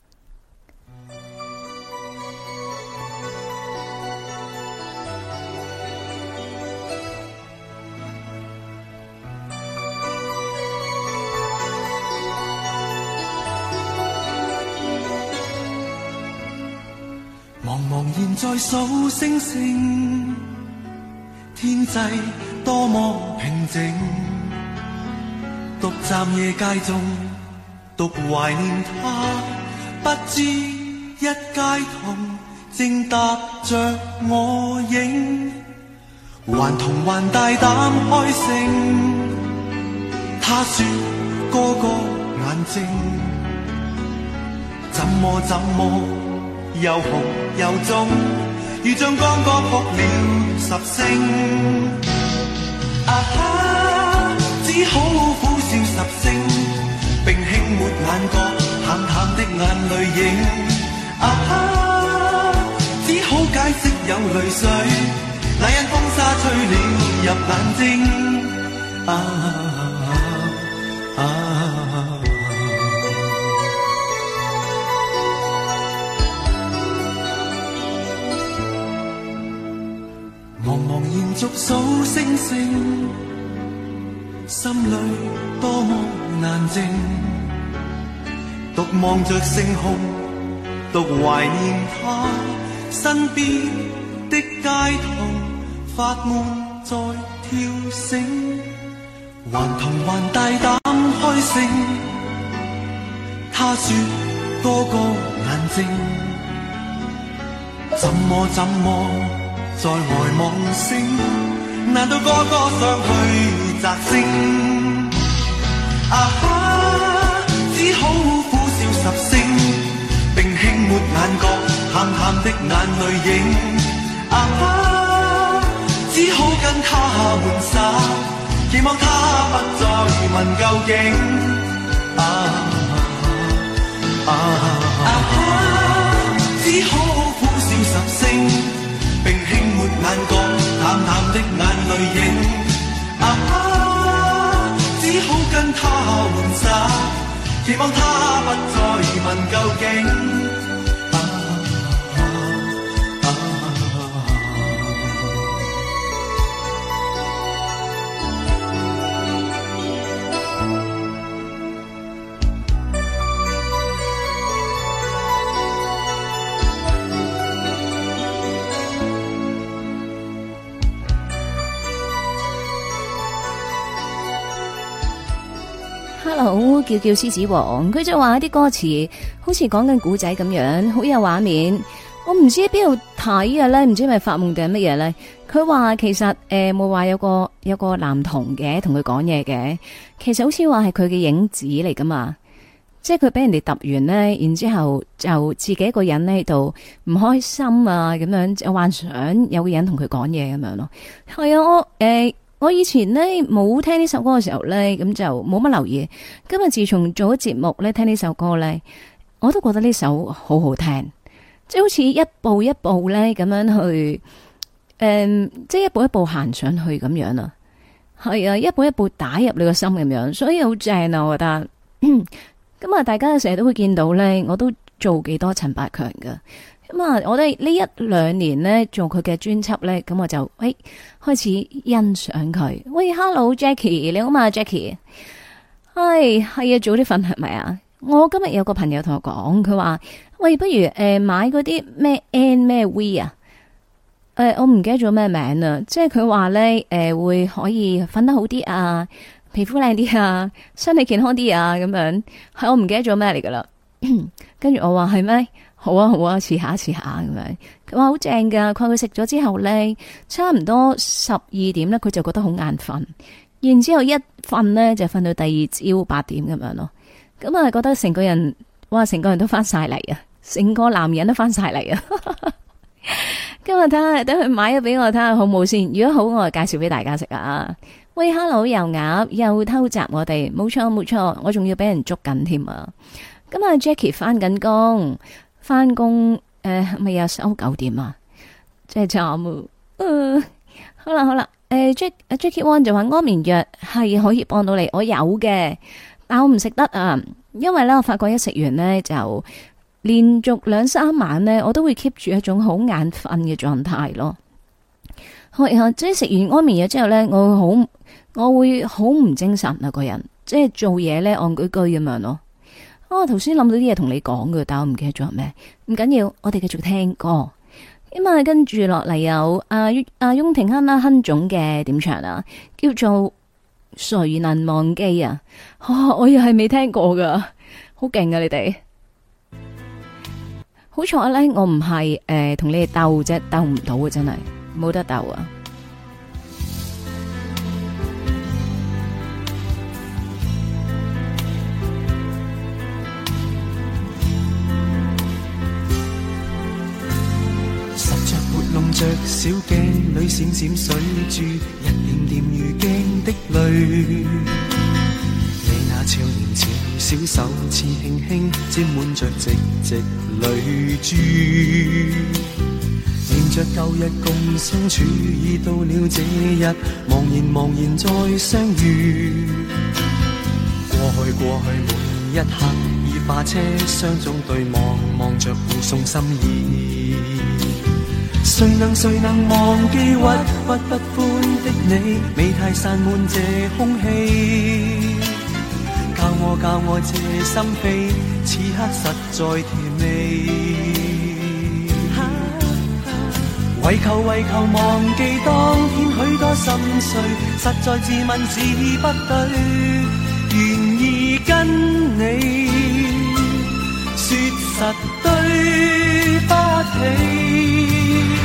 茫茫然在數星星，天際多麼平靜，獨站夜街中，獨懷念他，不知一街童正踏着我影，還童還大膽開聲，他說個個眼睛，怎麼怎麼又紅又腫，如像剛剛哭了十聲。啊哈，只好苦笑十聲，並輕抹眼角淡淡的眼淚影。啊哈，只好解釋有淚水，那因風沙吹了入眼睛。啊啊啊茫茫然續數星星，心裏多麼難靜，獨望着星空，獨懷念他，身邊的街童發夢在跳繩，還童還大膽開聲，他說個個眼睛，怎麼怎麼在外望星，難道個個上去摘星？啊哈，只好苦笑十聲，並輕抹眼角淡淡的眼淚影。啊哈，只好跟他玩耍，期望他不再問究竟。啊啊啊哈，只好苦笑十聲，並輕抹眼角淡淡的眼淚影。啊哈，只好跟他玩耍，期望他不再問究竟。啊啊啊 Hello， 叫叫獅子王，佢就話啲歌詞好似講緊古仔咁樣，好有畫面。我唔知喺邊度睇嘅咧，唔知係咪發夢定係乜嘢咧？佢話其實誒冇話有個有個男童嘅同佢講嘢嘅，其實好似話係佢嘅影子嚟噶嘛。即係佢俾人哋揼完咧，然之後就自己一個人喺度唔開心啊，咁樣就幻想有個人同佢講嘢咁樣咯。係啊，我誒。呃我以前呢冇聽呢首歌嘅時候呢，咁就冇乜留意。今日自從做咗節目呢，聽呢首歌呢，我都覺得呢首好好聽，即係好似一步一步呢咁樣去，誒、嗯，即係一步一步行上去咁樣啊。係啊，一步一步打入你個心咁樣，所以好正啊！我覺得。咁啊，大家成日都會見到呢，我都做幾多陳百強噶。咁啊，我哋呢一兩年呢做佢嘅專輯呢，咁我就誒、哎、開始欣賞佢。喂 ，Hello Jackie，你好嘛 Jackie？係係啊，早啲瞓係咪啊？我今日有個朋友同我講，佢話喂，不如誒、呃、買嗰啲咩 N 咩 V 啊？誒、呃，我唔記得咗咩名啊，即係佢話呢誒、呃、會可以瞓得好啲啊，皮膚靚啲啊，身體健康啲啊，咁樣係我唔記得咗咩嚟噶啦。跟住我話係咩？好啊好啊，試下試下咁樣。佢話好正噶，佢話佢食咗之後咧，差唔多十二點咧，佢就覺得好眼瞓，然之後一瞓咧就瞓到第二朝八點咁樣咯。咁啊覺得成個人，哇，成個人都翻晒嚟啊，成個男人都翻晒嚟啊。今日睇下，等佢買咗俾我睇下好唔好先。如果好，我就介紹俾大家食啊。 喂，hello，又鴨又偷襲我哋，冇錯冇錯，我仲要俾人捉緊添啊！咁啊 Jackie 翻緊工，翻工誒咪有收九點啊，真係慘啊！呃、好啦好啦，誒、呃、Jack Jackie One 就話安眠藥係可以幫到你，我有嘅，但我唔食得啊，因為咧我發覺一食完呢，就連續兩三晚呢，我都會 keep 住一種好眼瞓嘅狀態咯。係啊，即係食完安眠藥之後呢，我會好我會好唔精神啊，個人即係做嘢呢，戇居居咁樣咯。啊，頭先諗到啲嘢同你講嘅，但我唔記得咗係咩，唔緊要，我哋繼續聽歌。咁啊，跟住落嚟有阿阿翁廷亨啦，亨總嘅點唱啊，叫做誰能忘記啊？哦、我又係未聽過噶，好勁啊！你哋好彩咧，我唔係誒同你哋鬥啫，鬥唔到啊，真係冇得鬥啊！ 弄着小鏡裏閃閃水珠，一點點如鏡的淚。你那少年潮小手似輕輕沾滿着直直淚珠，念着舊日共相處，已到了這日，茫然茫然再相遇。過去過去每一刻，已化車廂中對望，望着互送心意。誰能誰能忘記鬱鬱不歡的你，美態散滿這空氣，教我教我這心扉，此刻實在甜美。為求為求忘記當天許多心碎，實在自問自不對，願意跟你說實對不起。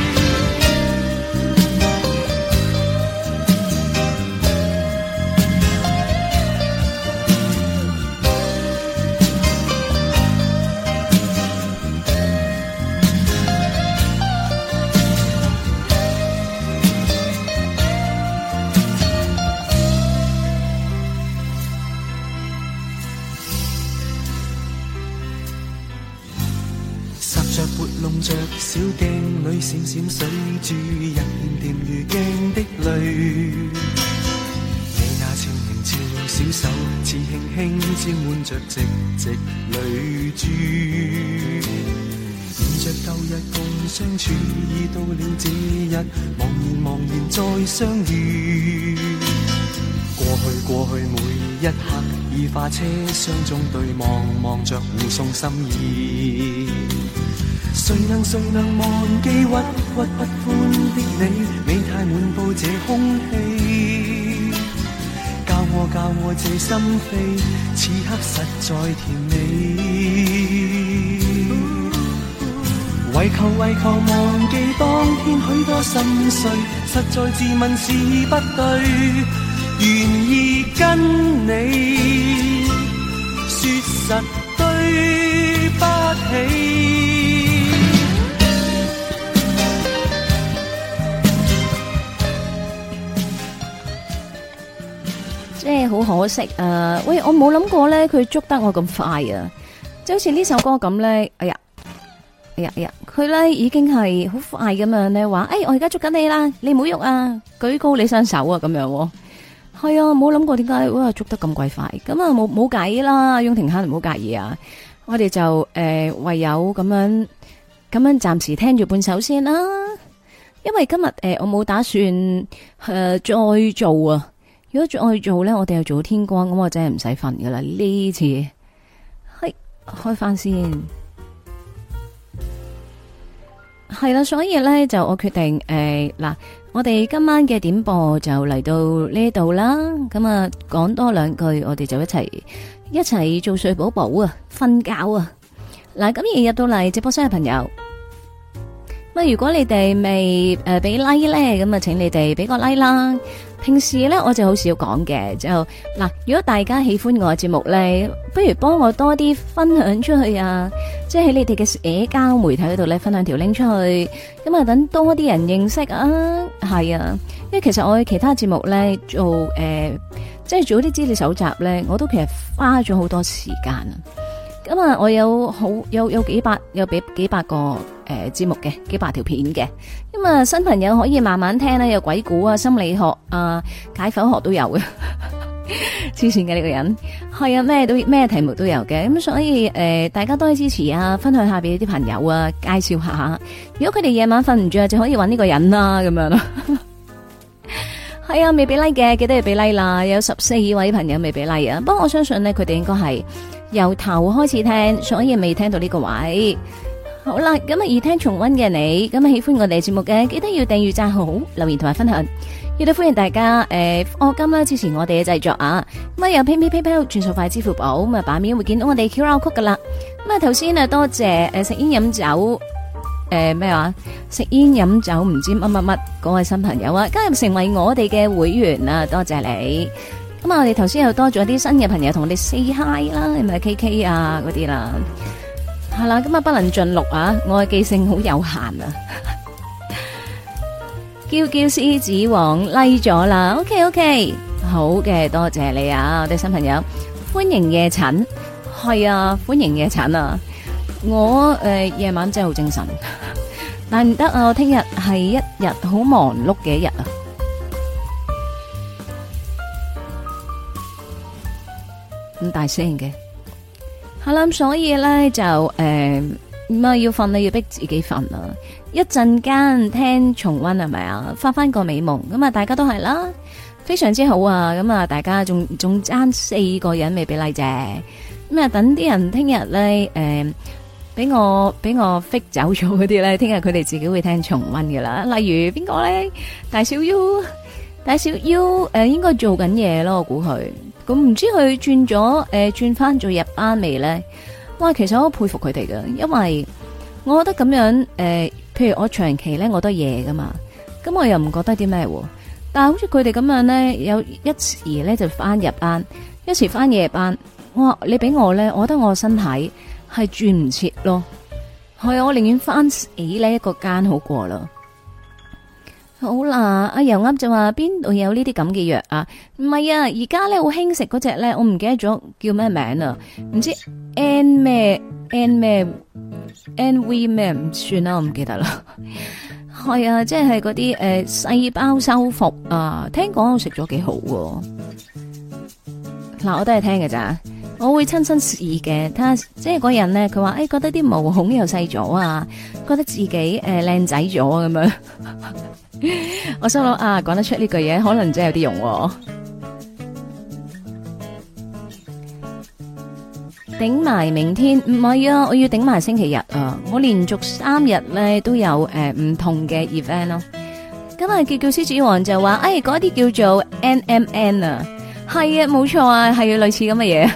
弄着小鏡裏閃閃水珠，一點點如鏡的淚。你那少年潮小手，似輕輕沾滿着直直淚珠。念着舊日共相處，已到了這日，茫然茫然再相遇。過去過去每一刻，已化車廂中對望，望着互送心意。誰能誰能忘記鬱鬱不歡的你，美態滿布這空氣，教我教我這心扉，此刻實在甜美。為求為求忘記當天許多心碎，實在自問是不對，願意跟你說實對不起。 即係好可惜啊！喂，我冇諗過咧，佢捉得我咁快啊！就好似呢首歌咁咧，哎呀，哎呀，哎呀，佢咧已經係好快咁樣咧，話誒，我而家捉緊你啦，你唔好喐啊，舉高你雙手啊，咁樣係啊，冇諗過點解哇捉得咁鬼快，咁啊冇冇計啦，雍庭坑唔好介意啊，我哋就誒、呃、唯有咁樣咁樣暫時聽住半首先啦，因為今日誒、呃、我冇打算誒、呃、再做啊。如果再做咧，我哋又做到天光，咁我真係唔使瞓噶啦。呢次係開翻先，係啦，所以咧就我決定誒嗱、呃，我哋今晚嘅點播就嚟到呢度啦。咁啊，講多兩句，我哋就一齊一齊做睡寶寶啊，瞓覺啊。嗱，咁而入到嚟直播室嘅朋友，咁如果你哋未誒俾 like 咧，咁啊，請你哋俾個 like 啦。 平時咧我就好少講嘅，就嗱，如果大家喜歡我嘅節目咧，不如幫我多啲分享出去啊！即係喺你哋嘅社交媒體嗰度咧，分享條 link 出去，咁啊等多啲人認識啊！係啊，因為其實我喺其他節目咧做誒、呃，即係做啲資料搜集咧，我都其實花咗好多時間啊！咁啊，我有好有有幾百有俾幾百個誒節目嘅，幾百條片嘅。咁啊，新朋友可以慢慢聽啦，有鬼故啊、心理學啊、解剖學都有嘅。黐線嘅呢個人，係啊，咩都咩題目都有嘅。咁所以誒、呃，大家多啲支持啊，分享下俾啲朋友啊，介紹下。如果佢哋夜晚瞓唔着，就可以揾呢個人啦，咁樣咯。係啊，未俾 like 嘅，記得要俾 like 啦。有十四位朋友未俾 like 啊，不過我相信呢，佢哋應該係由頭開始聽，所以未聽到呢個位。好啦，咁啊，而聽重溫嘅你，咁啊喜歡我哋節目嘅，記得要訂閱、讚好、留言同埋分享。亦都歡迎大家誒，課金啦，支持我哋嘅製作啊。咁啊，有 PayMe、PayPal、轉數快、支付寶，咁啊，版面會見到我哋 Q R code 噶啦。咁啊，頭先啊，多謝誒食煙飲酒誒咩話？食煙飲酒唔知乜乜乜嗰位新朋友啊，加入成為我哋嘅會員啊，多謝你。咁啊，我哋頭先又多咗啲新嘅朋友同我哋 say hi 啦，係咪 K K 啊嗰啲啦？係啦，咁啊不能盡錄啊，我嘅記性好有限啊。叫叫獅子王 like 咗啦 ，OK OK， 好嘅，多謝你啊，我哋新朋友，歡迎夜診，係啊，歡迎夜診啊，我誒夜、呃、晚真係好精神，但唔得啊，我聽日係一日好忙碌嘅一日啊。咁大聲嘅，係啦，所以咧就誒，咁啊要瞓啦，要逼自己瞓啦。一陣間聽重溫係咪啊？發翻個美夢，咁啊大家都係啦，非常之好啊！咁啊大家仲仲爭四個人未俾 like 啫，咁啊等啲人聽日咧誒，俾我俾我 fit 走咗嗰啲咧，聽日佢哋自己會聽重溫噶啦。例如邊個咧？大小 U， 大小 U 誒，應該做緊嘢咯，我估佢。咁唔知佢轉咗誒，轉翻做日班未咧？哇，其實我好佩服佢哋噶，因為我覺得咁樣誒。呃譬如我長期咧，我都夜噶嘛，咁我又唔覺得啲咩喎。但係好似佢哋咁樣咧，有一時咧就翻日班，一時翻夜班。哇，你俾我咧，我覺得我身體係轉唔切咯。係啊，我寧願翻死呢一個間好過啦。好啦，阿油噏就話邊度有呢啲咁嘅藥啊？唔係啊，而家咧好興食嗰隻咧，我唔記得咗叫咩名啊，唔知 N 咩 N 咩。N V 咩唔算啦，我唔記得啦。係啊，即係嗰啲誒細胞修復啊，聽講我食咗幾好喎。嗱，我都係聽嘅咋，我會親身試嘅。睇下即係嗰人咧，佢話誒覺得啲毛孔又細咗啊，覺得自己誒靚、呃、仔咗咁樣。我心諗啊，講得出呢句嘢，可能真係有啲用喎。頂埋明天唔係啊，我要頂埋星期日啊！我連續三日咧都有誒唔、呃、同嘅 event 咯。今日叫叫獅子王就話，誒嗰啲叫做 N M N 啊，係啊，冇錯啊，係類似咁嘅嘢。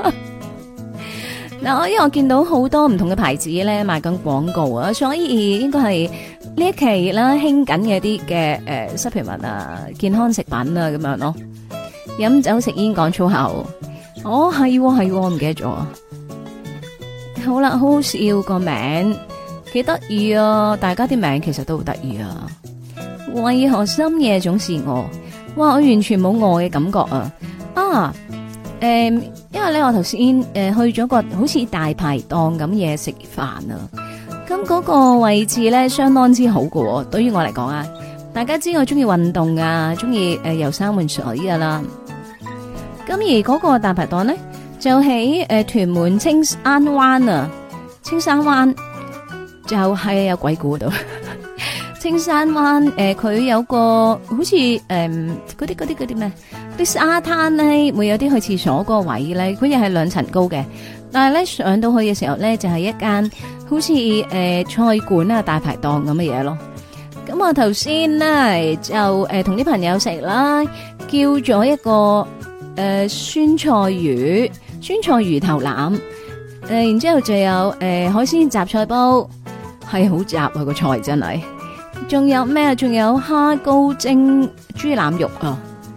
嗱，我因為我見到好多唔同嘅牌子咧賣緊廣告啊，所以應該係呢一期啦興緊嘅啲嘅誒 supplement 啊、健康食品啊咁樣咯。飲酒食煙講粗口。哦，係係，我唔記得咗。好啦，好好笑個名，幾得意啊！大家啲名其實都好得意啊。為何深夜總是我？哇，我完全冇我嘅感覺啊！啊，誒、呃，因為咧我頭先誒去咗個好似大排檔咁嘢食飯啊，咁嗰個位置咧相當之好喎。對於我嚟講啊，大家知我中意運動啊，中意誒遊山玩水噶啦。咁而嗰個大排檔咧，就喺誒、呃、屯門青山灣啊，青山灣就係有鬼故度。青山灣誒，佢、呃、有個好似誒嗰啲嗰啲嗰啲咩，啲沙灘咧，會有啲去廁所嗰個位咧，佢又係兩層高嘅。但係咧上到去嘅時候咧，就係、是、一間好似誒、呃、菜館啊大排檔咁嘅嘢咯。咁我頭先咧就誒同啲朋友食啦，叫咗一個。誒、呃，酸菜魚、酸菜魚頭腩，誒、呃，然之後就有誒、呃、海鮮雜菜煲，係好雜啊個菜真係。仲有咩？仲有蝦膏蒸豬腩肉啊，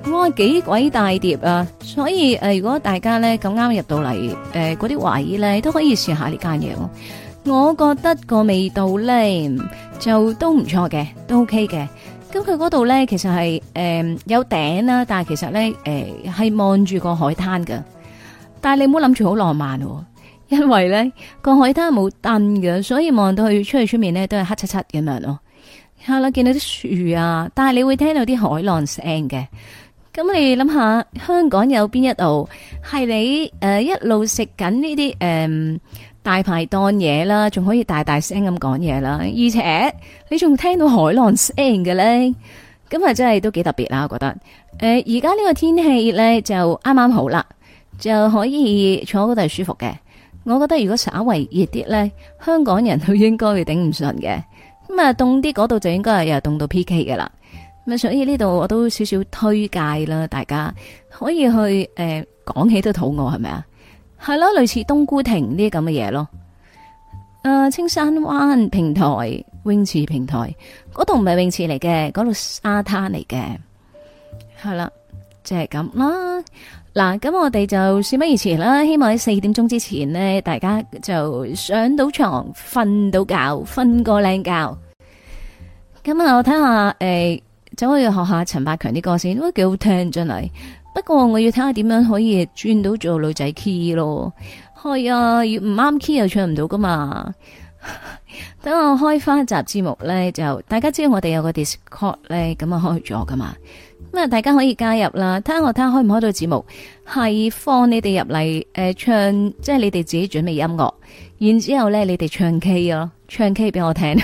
哇，幾鬼大碟啊！所以誒、呃，如果大家咧咁啱入到嚟誒嗰啲位咧，都可以試下呢間嘢。我覺得個味道咧就都唔錯嘅，都 OK 嘅。咁佢嗰度咧其實係誒、呃、有頂啦，但係其實咧誒係望住個海灘㗎。但係你唔好諗住好浪漫喎，因為咧個海灘冇燈嘅，所以望到去出去出面咧都係黑漆漆咁樣咯。係啦，見到啲樹啊，但係你會聽到啲海浪聲嘅。咁你諗下，香港有邊一度係你誒、呃、一路食緊呢啲誒大排檔嘢啦，仲可以大大聲咁講嘢啦，而且你仲聽到海浪聲嘅咧，咁啊真係都幾特別啦，我覺得。誒而家呢個天氣咧就啱啱好啦，就可以坐嗰度係舒服嘅。我覺得如果稍為熱啲咧，香港人都應該會頂唔順嘅。咁啊凍啲嗰度就應該係又凍到 P K 嘅啦。咁所以呢度我都少少推介啦，大家可以去誒講、呃、起都肚餓係咪啊？係咯，類似冬菇亭呢啲咁嘅嘢咯。誒、呃，青山灣平台泳池平台嗰度唔係泳池嚟嘅，嗰度沙灘嚟嘅。係啦，就係咁啦。嗱，咁我哋就事不宜遲啦，希望喺四點鐘之前呢，大家就上到床瞓到覺，瞓個靚覺。咁啊，我睇下誒。呃就可以學下陳百強啲歌先，都幾好聽真係。不過我要睇下點樣可以轉到做女仔 key 咯。係啊，唔啱 key 又唱唔到噶嘛。等我開翻一集節目咧，就大家知道我哋有個 Discord 咧，咁啊開咗噶嘛。咁啊，大家可以加入啦。睇下我睇下開唔開到節目，係放你哋入嚟誒唱，即係你哋自己準備音樂，然之後咧你哋唱 K 咯，唱 K 俾我聽。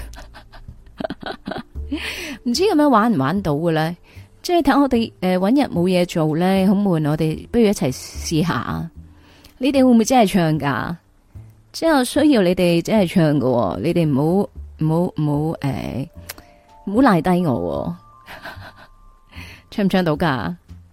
唔知咁樣玩唔玩到嘅咧？即係睇我哋誒搵日冇嘢做咧，好悶。我哋不如一齊試下。你哋會唔會真係唱噶？即係需要你哋真係唱喎。你哋唔好唔好唔好誒，唔好賴低我。唱唔唱到噶？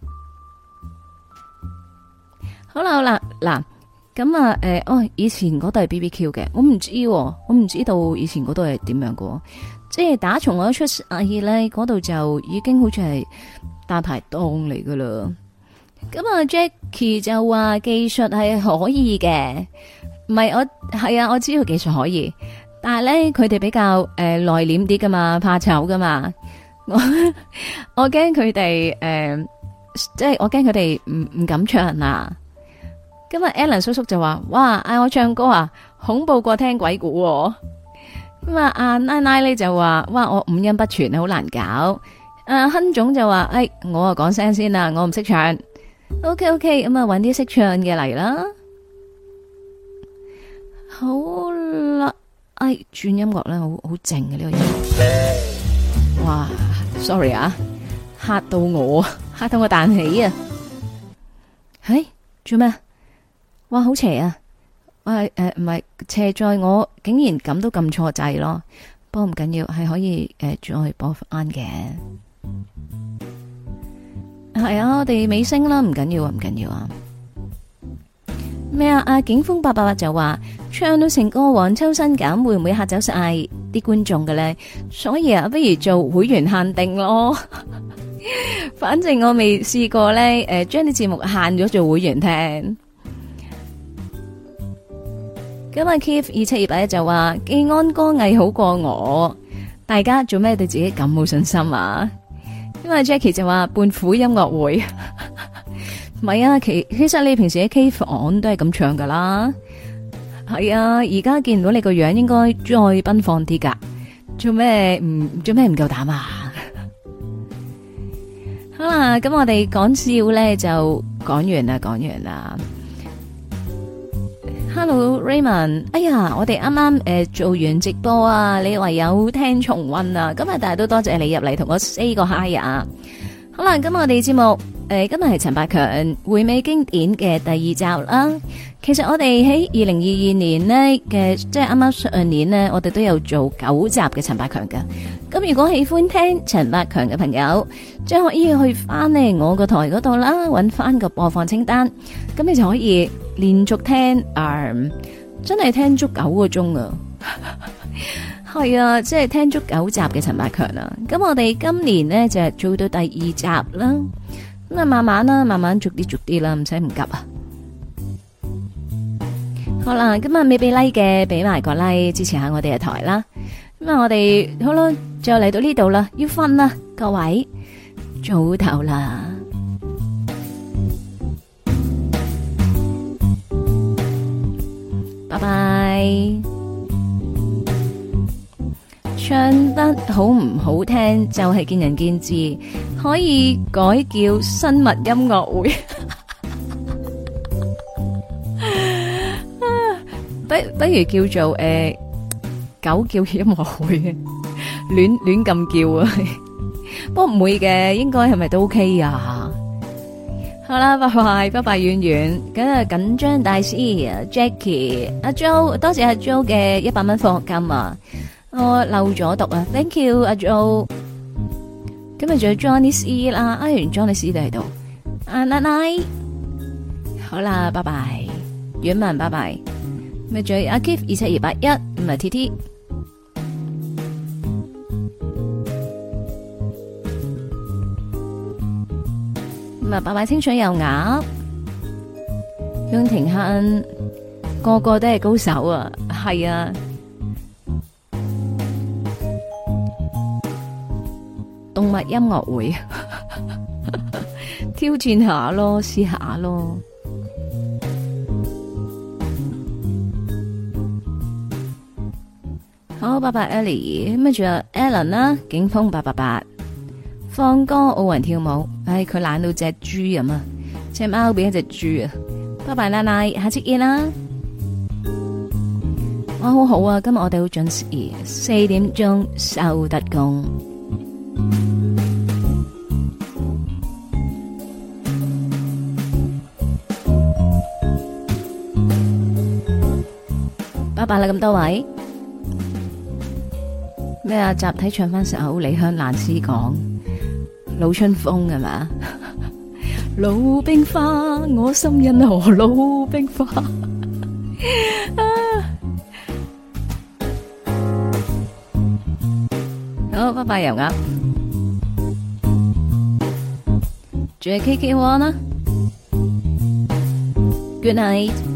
好啦好啦，嗱咁啊誒，哦，以前嗰度係 B B Q 嘅，我唔知，我唔知道以前嗰度係點樣嘅。即係打從我一出世咧，嗰度就已經好似係大排檔嚟噶啦。咁啊 Jackie 就話技術係可以嘅，唔係我係啊，我知道技術可以，但係咧佢哋比較誒內斂啲噶嘛，怕醜噶嘛。我我驚佢哋誒，即係我驚佢哋唔唔敢唱啊。今日 Alan 叔叔就話：哇，嗌我唱歌啊，恐怖過聽鬼故喎。咁啊，阿奶奶咧就話：哇，我五音不全，好難搞。阿亨總就話：誒，我啊講聲先啦，我唔識唱。OK OK，咁啊，搵啲識唱嘅嚟啦。好啦，誒，轉音樂咧，好好靜嘅呢個音樂。哇 ，sorry 啊，嚇到我，嚇到我彈起啊！係做咩？哇，好邪啊！誒誒，唔係斜在我竟然咁都撳錯掣咯，不過唔緊要，係可以誒再播翻嘅。係啊，我哋尾聲啦，唔緊要啊，唔緊要啊。咩啊？阿景峰八八八就話唱到成個黃秋生咁，會唔會嚇走晒啲觀眾嘅咧？所以啊，不如做會員限定咯。反正我未試過咧，誒將啲節目限咗做會員聽。咁啊 Keith 二七二八一就話技安歌藝好過我，大家做咩對自己咁冇信心啊？因為 Jackie 就話胖虎音樂會，唔係啊，其其實你平時喺 K 房都係咁唱噶啦，係啊，而家見唔到你個樣，應該再奔放啲噶，做咩唔做咩唔夠膽啊？好啦，咁我哋講笑咧就講完啦，講完啦。Hello Raymond，哎呀，我哋啱啱誒做完直播啊，你唯有聽重溫啊，今日但係都多謝你入嚟同我 say 個 hi 啊。好啦，咁我哋節目誒、呃、今日係陳百強回味經典嘅第二集啦。其實我哋喺二零二二年呢嘅，即係啱啱上年呢，我哋都有做九集嘅陳百強㗎。咁如果喜歡聽陳百強嘅朋友，即係可以去翻呢我個台嗰度啦，搵翻個播放清單，咁你就可以連續聽，誒、嗯，真係聽足九個鐘啊！係啊，即係聽足九集嘅陳百強啦。咁我哋今年呢，就係做到第二集啦。 咁啊，慢慢啦，慢慢逐啲逐啲啦，唔使唔急啊。好啦，今日未俾 like 嘅，俾埋個 like 支持下我哋嘅台啦。咁啊，我哋好啦，就嚟到呢度啦，要瞓啦，各位早唞啦，拜拜。唱得好唔好聽就係見仁見智，可以改叫生物音樂會。不不如叫做誒、呃、狗叫音樂會嘅，亂亂咁叫啊！不過唔會嘅，應該係咪都 OK 啊？好啦，拜拜，拜拜，遠遠。咁啊，緊張大師啊 ，Jackie，阿 Jo， 多謝阿 Jo 嘅一百蚊課金啊！我漏咗讀啊 ，thank you 阿 Jo。今日仲有 Johnny C 啦，啊，原 Johnny C 都喺度。啊，奶奶，好啦，拜拜，遠文，拜拜。咪仲有阿 Keith 二七二八一，唔係 T T。咁啊，拜拜清水油鴨，向庭恨，個個都係高手啊，係啊。動物音樂會挑戰下咯，試下咯。好，拜拜 Ellie， 咁啊仲有 Alan 啦，景峰八八八，放歌奧運跳舞，唉佢懶到隻豬咁啊，隻貓變一隻豬啊！拜拜奶奶，下次見啦。哇，好好啊，今日我哋好準時，四點鐘收得工。拜拜啦，咁多位。咩啊？集體唱翻首李香蘭詩講老春風係嘛？老冰花，我心因何老冰花？啊、好，拜拜油鴨，仲有 K K One 啦 ，Good night。